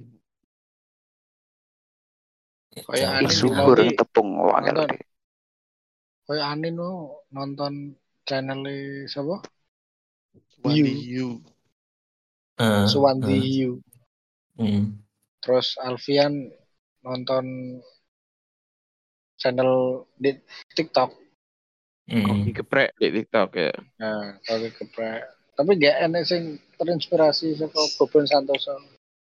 A: Ya,
C: Kayak
A: jangan
C: Anin
E: Isu
C: mau
E: goreng
C: di
E: tepung wangel
C: nonton.
E: deh.
C: Kayak Anin no nonton channel siapa?
D: Wandi
C: Hiu.
D: Hiu.
A: Eh,
C: Suwandi
A: eh,
C: Hiu.
A: hmm.
C: Terus Alfian nonton channel di TikTok.
A: Hmm.
B: Koki geprek di TikTok ya.
C: Nah, kalau geprek. Tapi gak enak sing terinspirasi saka Boben Santoso.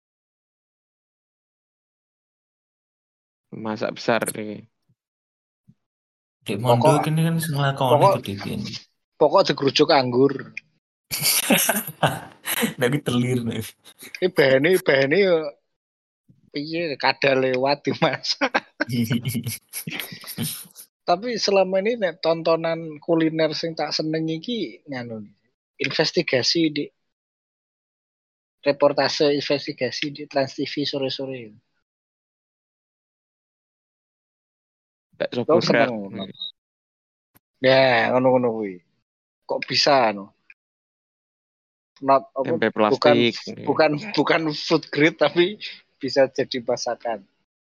B: Masak besar nih.
A: Dek Mondo
C: Pokok
A: kini kan ngelakoni
C: pokok
A: tuh Dek ini.
C: pokok digerujuk anggur.
A: Tapi telir nih.
C: Ini bahane bahane yo piye kada lewat dimasak. Tapi selama ini nek tontonan kuliner sing tak seneng iki nganu investigasi di reportase investigasi di Trans T V sore-sore.
B: Bakso
C: Kau
B: Korea.
C: seneng? Ya, ngono-ngono kuwi. Kok bisa no? Not apa,
B: Tempe
C: bukan
B: plastik.
C: bukan bukan food grade tapi bisa jadi masakan.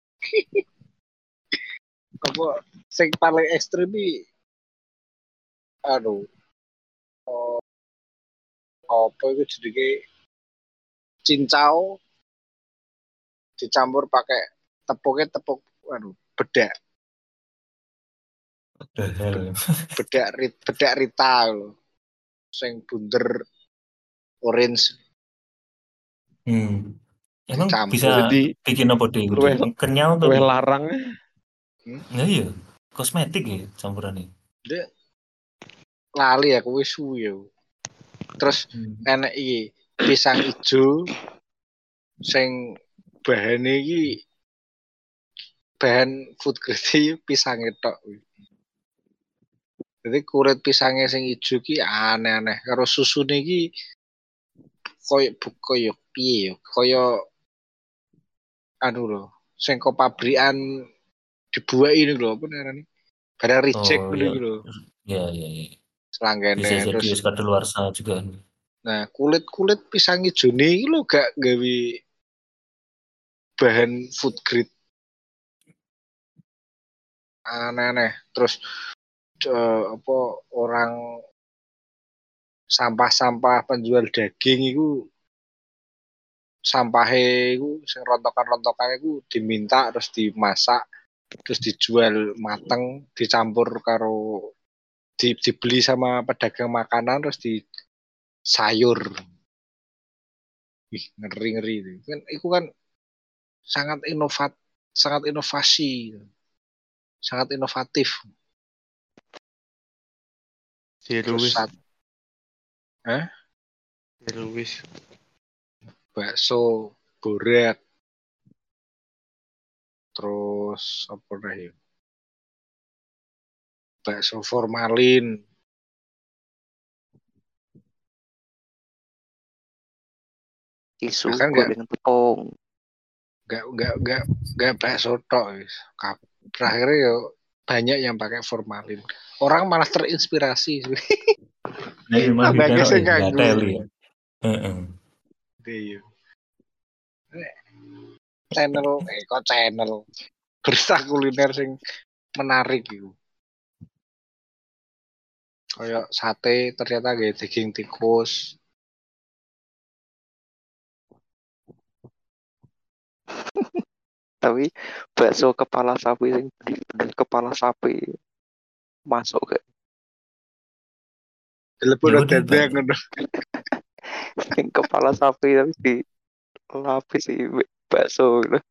C: Apa sing paling ekstrim iki aduh. Oh, apa itu jenenge cincau dicampur pakai tepungnya tepung aduh bedak
A: Padahal.
C: bedak rit, bedak Rita lho sing bunder orange
A: Hmm. Emang
C: dicampur.
A: bisa
B: Jadi
A: bikin apa deh?
B: luweh
A: Kenyal tuh.
B: luweh larang.
C: Hmm?
A: Nah iya, kosmetik ya campurannya.
C: Dia lali aku wis suwi yo. Terus
A: Hmm.
C: enek iki pisang ijo sing bahane iki bahan food grade pisang tok. Jadi kulit pisangnya sing ijo ki aneh-aneh karo susune iki koyo koyo piye yo koyo anu lho sing kok pabrikan dibuat ini lho apa namanya barang reject
A: Oh
C: dulu
A: ya,
C: gitu
A: ya ya, ya.
C: selanggane
A: Bisa jadi
C: terus
A: wis kadaluarsa juga.
C: nah kulit kulit pisang hijau ini lo gak gawe bahan food grade aneh-aneh terus uh, apa orang sampah-sampah penjual daging itu sampahnya itu sing rontokan-rontokan itu diminta terus dimasak terus dijual mateng dicampur karo di, dibeli sama pedagang makanan terus di sayur. Ih, ngeri-ngeri itu. Kan itu kan sangat inovat sangat inovasi. Sangat inovatif.
D: Zero
C: Terus
D: waste.
C: saat eh
D: Zero waste.
C: bakso borak. Terus apa dah ya? Bakso formalin.
E: Isu
C: Bahkan
E: goreng tepung.
C: Gak gak gak gak bakso tok guys. Terakhirnya ya banyak yang pakai formalin. Orang malah terinspirasi.
A: Nah, iya malah
C: Tambah
A: ditaruh
C: sing
A: ya, nggak
C: nganggo.
A: teli ya. Heeh.
C: Iya. Channel eh kok channel berita kuliner sing menarik gitu. Kayak sate ternyata gak daging tikus.
E: Tapi bakso kepala sapi yang bener kepala sapi masuk ke
C: Telepon
A: Ya
C: udah
A: udah, Pak.
C: ngono.
E: yang kepala sapi tapi di lapis di bakso gitu.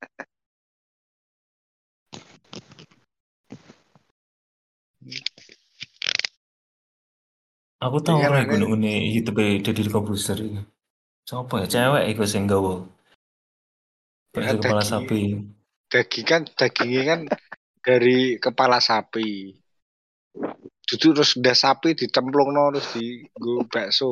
A: Aku tahu
C: Iya,
A: ora
C: kan,
A: iku ngene YouTube Deddy Corbuzier iki. Sopo ya cewek iku sing nggawa bakso
C: ya
A: kepala
C: daging
A: sapi.
C: daging kan dagingnya kan dari kepala sapi. Duduk terus udah sapi ditemplung no terus di go bakso.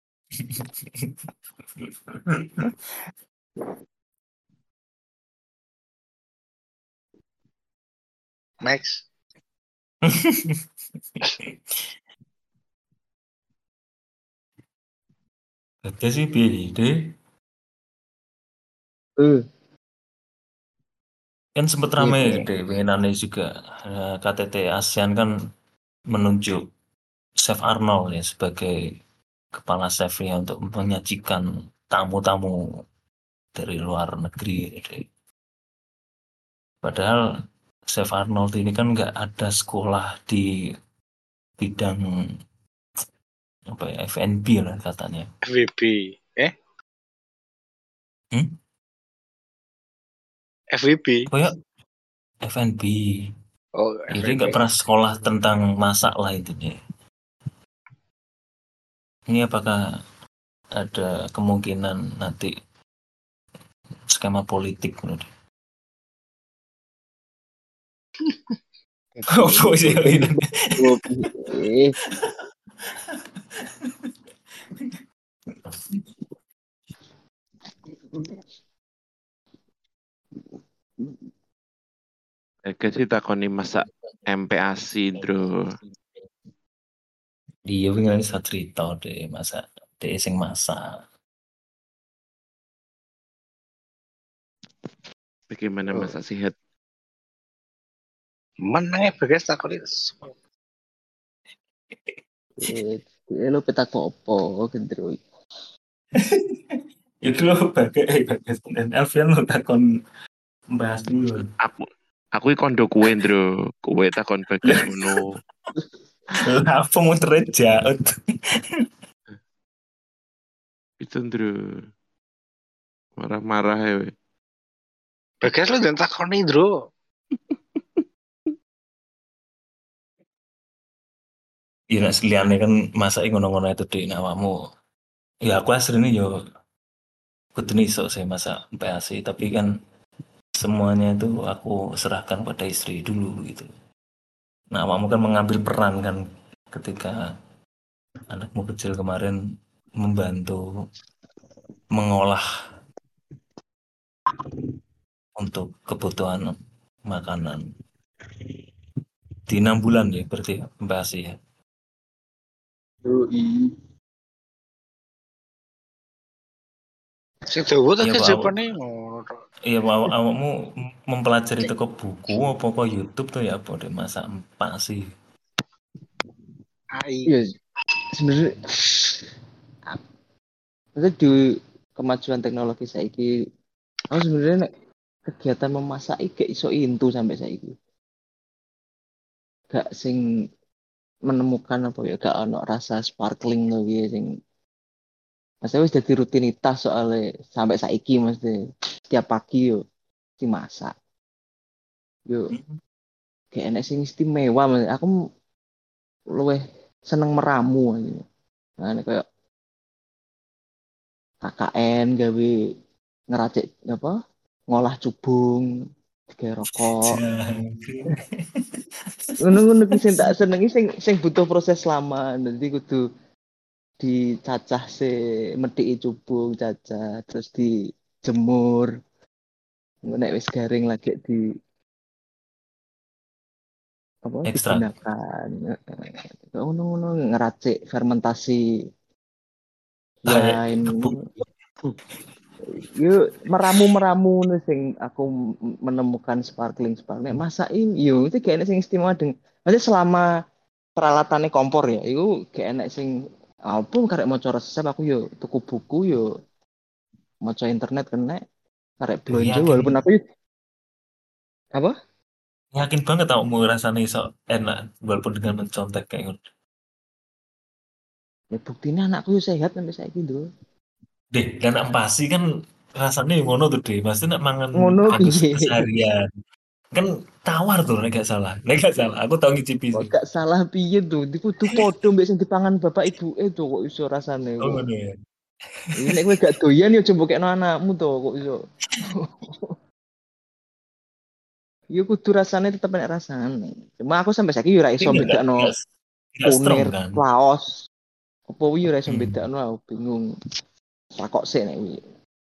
C: Max.
A: Ada sih piye deh.
C: Eh,
A: Kan sempat
C: Iya,
A: ramai
C: iya.
A: deh pengenannya juga eh, K T T ASEAN kan menunjuk Chef Arnold ya sebagai kepala chefnya untuk menyajikan tamu-tamu dari luar negeri. Deh. Padahal Chef Arnold ini kan nggak ada sekolah di bidang apa ya F and B lah katanya.
C: F W B. Eh?
A: Hmm?
C: F W B.
A: Apa ya? F and B.
C: Oh,
A: Jadi
C: F W B.
A: nggak pernah sekolah tentang masak lah itu nih. Ini apakah ada kemungkinan nanti skema politik menurut Opo sih ini?
E: Oh, piye?
B: Ega sih takoni masak M P A S I, Bro.
A: Iya wingi sak cerita deh masa deh sing masak.
B: Bagaimana
E: Oh,
B: masak sehat?
C: Menangnya Bagas takut itu.
E: eh, eh, lu petak opo gendro.
A: Itu lo bagai eh, bagas dan Alfian lo takon bahas dulu.
B: Aku aku iki kondo kue, Bro. Kue takon Bagas ngono.
A: Lah apa mau jaut?
B: Itu, Bro. Marah-marah ya. we.
C: Bagas lu jangan takut nih, Bro.
A: Iya nak seliane kan masak ngono-ngono itu di awakmu. Ya aku aslinya yo kudu iso sih masak M P A S I tapi kan semuanya itu aku serahkan pada istri dulu gitu. Nah, awakmu kan mengambil peran kan ketika anakmu kecil kemarin membantu mengolah untuk kebutuhan makanan di enam bulan ya berarti M P A S I ya.
E: Yoi.
C: Sing Jawa tak
A: Iya
C: ke
A: Pak, awak,
C: Jepane ngono tok.
A: iya Pak, awak, awakmu mempelajari toko buku apa kok YouTube tuh ya apa deh masak M P A S I.
C: A I.
E: Iya, sebenarnya itu di kemajuan teknologi saiki aku sebenarnya nek kegiatan memasak iki gak iso intu sampai saiki. Gak sing menemukan apa ya gak ono rasa sparkling lho piye sing Maksudnya wis jadi rutinitas soalnya sampai saiki mesti setiap pagi yo dimasak. Yo kayak enek sing istimewa Mas. Aku luwih seneng meramu aja. Nah, kayak K K N gawe ngeracik apa? Ngolah cubung, digawe rokok. Ngono-ngono ki sing tak senengi sing sing butuh proses lama. Jadi kudu dicacah se medhiki cubung, cacah terus dijemur. Nek wis garing lagi di apa
A: Ekstrak.
E: digunakan ngono-ngono ngeracik fermentasi
A: Kayak
E: wine
A: kebun.
E: yuk meramu-meramu nih sing aku m- menemukan sparkling sparkling masakin yo itu kayak enak sing istimewa deng nanti selama peralatannya kompor ya itu kayak enak sing apa karek mau resep aku yo tuku buku yo maca internet kena karek
A: Duh,
E: belanja
A: yakin
E: walaupun aku apa
A: yakin banget tau mau rasanya iso enak walaupun dengan mencontek kayak gitu.
E: ya buktinya anakku yo sehat sampai saya gitu
A: Deh, dan ampasi kan rasanya yang ngono tuh deh. Pasti nak mangan
E: ngono
A: bagus
E: piye
A: seharian. Kan tawar tuh, nek gak salah. Nek gak salah, aku tau ngicipi
E: kok
A: sih.
E: gak salah piye tuh di kudu podo mbek sing dipangan bapak ibu eh tuh kok iso rasane
A: Oh,
E: kok
A: ngono ya.
E: ini nek kowe gak doyan ya coba kekno anakmu tuh kok iso ya kudu rasane tetep enak rasane cuma aku sampai saiki yo ora
A: Tapi
E: iso
A: enggak, enggak,
E: bedakno
A: enggak, enggak strong
E: kunir
A: kan?
E: laos apa wi ora iso
A: Hmm.
E: bedakno aku bingung takok sik nek wi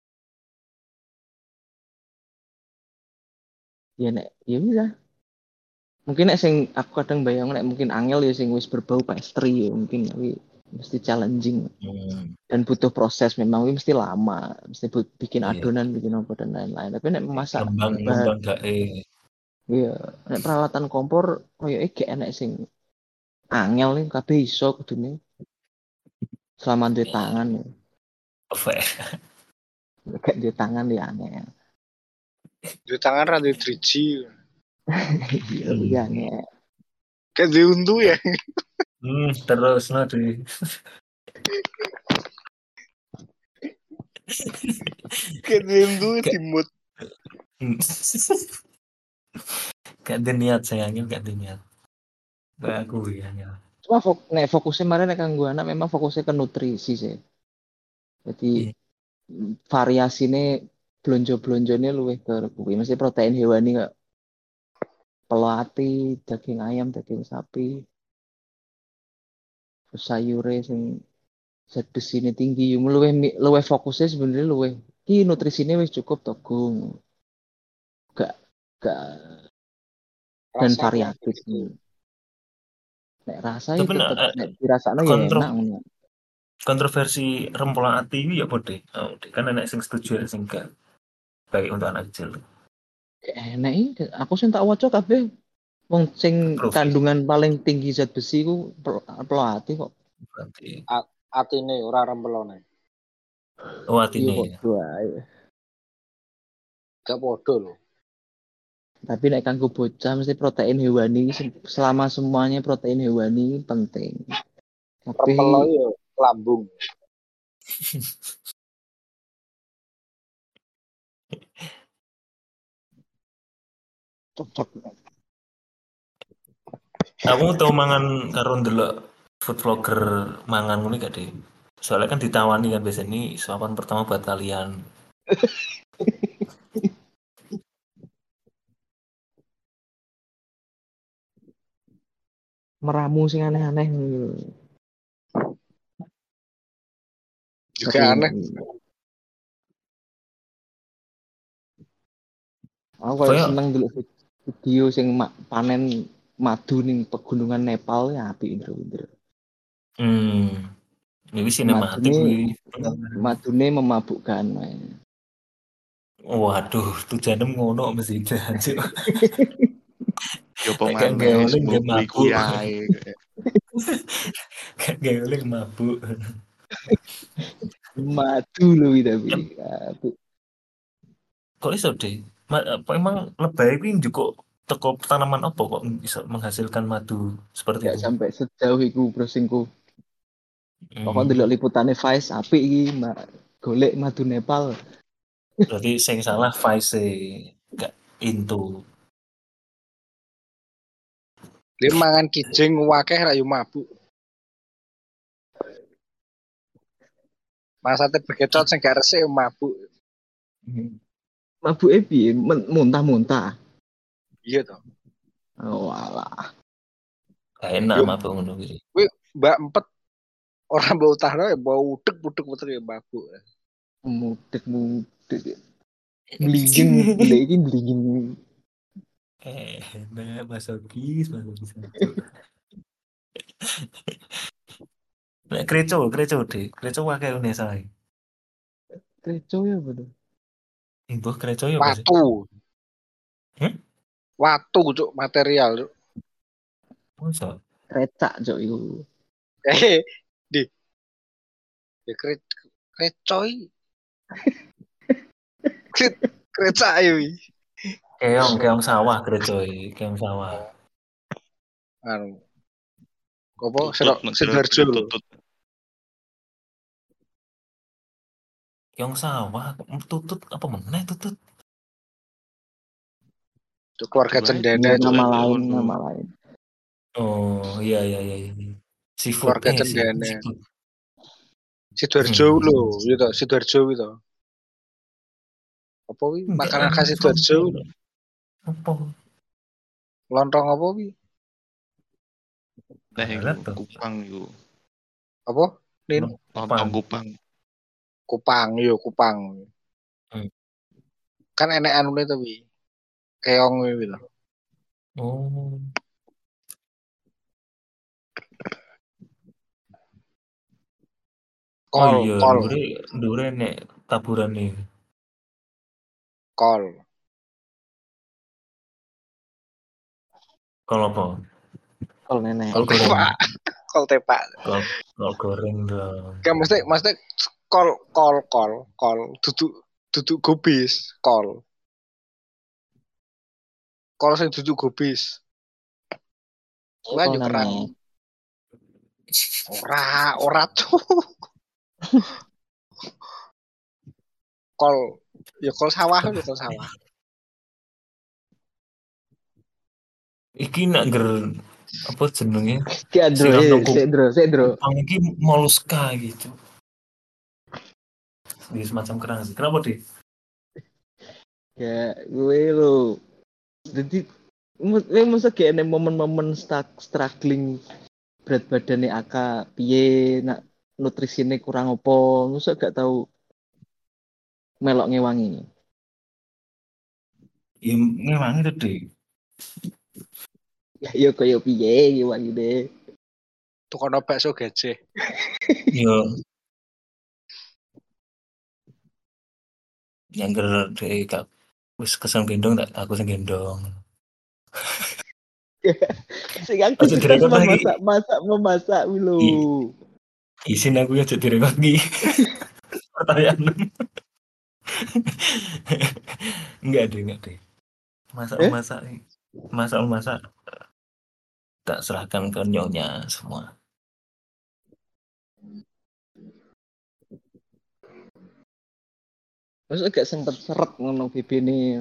E: ya nek ya wis lah mungkin nek sing aku kadang bayang nek mungkin angel ya sing wis berbau pastry ya mungkin tapi mesti challenging
A: Hmm.
E: dan butuh proses memang ini mesti lama mesti bu- bikin
A: Iya.
E: adonan bikin apa dan lain-lain tapi nek memasak
A: Ngembang,
E: bahan
A: ngembang gak eh.
E: iya nek peralatan kompor koyo iki enek sing angel nih kabeh iso kudune selama duwe tangan ya
A: Apa ya?
E: gak duwe tangan ya angel
C: Di tangan ra di tiga G.
E: iya
A: Hmm.
E: iya angel
C: Kayak di untu ya.
A: Hmm, terus nanti.
C: Kayak di untu di mood.
A: Hmm. Gak ada niat sayangnya, gak ada niat. Kayak aku ya. Ya.
E: cuma fok nek fokusnya kemarin nek kanggo anak memang fokusnya ke nutrisi sih jadi
A: Iya.
E: variasinya blonjo-blonjone luwih ke kuwi mesti protein hewani kok pelo ati, daging ayam, daging sapi. Terus sayure sing zat besine tinggi, yo luwih mi- luwih fokusnya sebenarnya luwih iki nutrisinya wis cukup to, Gung. Gak gak dan
C: Rasanya
E: variatif.
C: gitu.
E: Nek rasa ya
A: Tapi nek
E: tetep
A: eh,
E: nek dirasakno ya
A: kontro
E: enak ngono.
A: kontroversi rempela ati iki ya apa, Dek? Oh, Dek, kan enek sing setuju sing gak baik untuk anak kecil.
E: Enak iki aku sing tak waca kabeh wong sing
A: Approve ya?
E: kandungan paling tinggi zat besi ku pel- pelo ati kok.
A: Berarti
C: A- Atine ora rempelone.
A: oh
E: Iya
A: atine
E: kok
A: ya.
E: dua ae.
C: Gak podo loh.
E: Tapi nek kanggo bocah mesti protein hewani se- selama semuanya protein hewani penting. Tapi
C: Rempelo yo lambung.
E: cocok.
A: Aku tau mangan karo ndelok food vlogger mangan ngono gak, Dek? Soalnya kan ditawani kan biasanya ini suapan pertama buat kalian.
E: Meramu sing aneh-aneh.
C: Juga
E: Tapi
C: aneh.
E: aku kayak
A: Kayak
E: seneng dulu video sing ma- panen madu ning pegunungan Nepal ya apik Indro Indro.
A: hmm, ini sinematik
E: Madune
A: kuwi.
E: madune memabukkan.
A: Waduh, tujuanem ngono mesti jancuk.
D: Yo
A: Nek gak
D: pemane
A: gaweling
D: semua
A: gak
D: kuwi kuwi
A: mabuk.
D: ae.
A: Gak gaweling mabuk.
E: Madu loh tapi. Apik.
A: Kok iso, Dek? Ma- apa emang lebay kuwi njuk teko tanaman apa kok bisa menghasilkan madu seperti
E: Gak
A: itu?
E: sampai sejauh iku browsingku. Pokoknya
A: Hmm,
E: delok liputane Vice apik iki Mbak. Golek madu Nepal.
A: berarti sing salah Vice gak into.
C: Dia mangan kijing wakeh ra yo mabuk. Masate bekecot sing gak resik yo mabuk.
A: Hmm.
E: Mabuke piye? Men- Muntah-muntah.
C: Iya toh.
E: Oh alah.
A: Gak enak
C: Yo,
A: mabuk ngono kuwi.
C: kuwi Mbak Empet orang bau utara ya bau udek-udek ya mabuk.
E: Mudek-mudek. Blinjing, gila iki blinjing.
A: Eh, nah, masokis, masokis. Nek kreco, kreco, Dek. Kreco wae une sae.
E: Kreco ya bener.
A: Imbuh kreco ya apa sih?
C: Watu.
A: Hmm?
C: Watu cuk material. Cuk.
A: Masa?
E: Krecak cok iku.
C: Eh, di. Ya kre krecoi. Kret krecak yo.
A: Keong, keong sawah kreco iki, keong sawah.
C: Anu. Apa
D: Tutut
C: serok
D: negara
C: Sidoarjo lho.
D: tutut.
A: Keong sawah, tutut apa meneh tutut?
C: Cuk keluarga
D: Dua
C: cendana
D: itu,
C: cuk.
E: Nama
D: ada
E: lain,
D: ono.
E: nama lain.
A: Oh, iya iya iya iya. Seafood
C: Keluarga
A: eh sih,
C: cendana.
A: seafood.
C: Sidoarjo
A: Hmm.
C: lho, yo toh, Sidoarjo kuwi toh. Apa kuwi
A: Enggak,
C: makanan
A: anu,
C: khas Sidoarjo?
A: apa?
C: Lontong apa kuwi?
D: Nah,
A: Alat
D: itu
A: tuh.
D: Kupang itu.
C: Apa? Nin
D: Lontong Kupang.
C: Kupang yo Kupang.
A: Hmm.
C: Kan enek anune to wi. Keong kuwi lho.
A: Oh.
C: Kol,
A: Oh iya,
C: kol,
A: dure dure nek taburan nih.
C: kol.
A: Kalau apa?
E: Kol nenek.
A: Kol goreng.
C: Tepak. Kol tepak.
A: Kol, kol goreng dong.
C: Kan mesti mesti kol kol kol kol duduk duduk gobis, kol. Kol sing duduk gobis. Kuwi
E: Kol
C: yo perang.
E: nenek.
C: Ora, ora tuh. Kol, ya kol sawah lho, kol sawah.
A: Iki nak ger apa jenenge?
E: Ki Andro,
A: Siram
E: eh,
A: nang
E: sik Andro, sik Andro.
A: Kupang iki moluska gitu. Di semacam kerang sih. Kenapa deh?
E: Ya, gue lo. Jadi Ini masa kayak ada momen-momen stuck, struggling berat badannya Aka piye nak nutrisinya kurang opo, masa gak tahu melok ngewangi.
A: Ya ngewangi itu deh.
E: Ya yo koyo piye ngewangi deh.
C: Tukono bakso gajah.
A: Yo yang ger deh kak wis kesan gendong tak aku sing gendong.
E: Sing
A: Aja
E: aktivitas
A: direkod lagi.
E: memasak, masak, memasak lho.
A: I- Isin aku ya jadi rekod nih. Pertanyaan. Enggak deh, enggak deh. Masak
E: Eh?
A: masak masak masak tak serahkan ke nyonya semua.
E: Masa gak sempet seret ngono B B ini.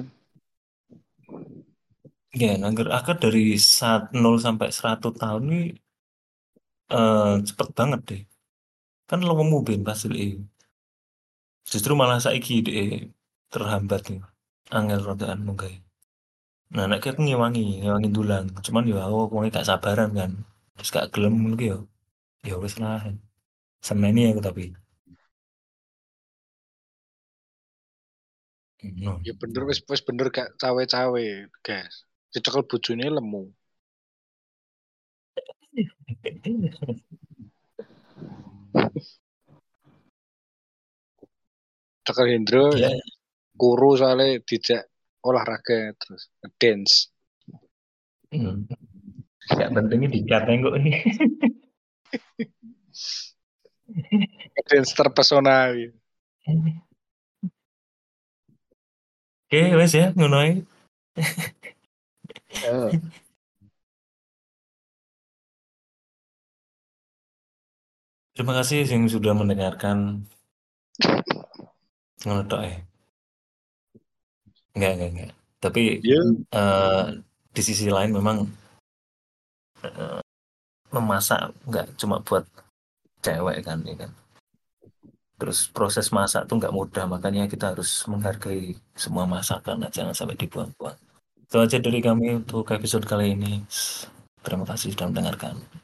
A: Ya, nangger akad dari saat nol sampai seratus tahun ini eh, cepet banget deh. Kan lo mau ben hasil ini. Justru malah saiki deh terhambat nih. Angel rodaan munggah. Nah, nek aku ngewangi, ngewangi dulang. Cuman ya aku wong gak sabaran kan. Terus gak gelem lagi ya. Ya wis lah. Semeni aku tapi. No.
C: Ya bener wis wis bener gak cawe-cawe, guys. Dicekel bojone lemu. Cekel Hendro
A: Ya,
C: kuru soalnya dijak olahraga terus dance.
A: hmm. Gak pentingnya dikata kok ini.
C: Dance terpesona. Gitu.
A: Oke, wes ya, ngono ae.
E: Ya.
A: Terima kasih yang sudah mendengarkan. Ngono tok eh. Enggak, enggak, enggak. Tapi
C: Ya,
A: eh, di sisi lain memang eh, memasak nggak cuma buat cewek kan, ya kan. Terus proses masak tuh nggak mudah, makanya kita harus menghargai semua masakan, jangan sampai dibuang-buang. Itu aja dari kami untuk episode kali ini. Terima kasih sudah mendengarkan.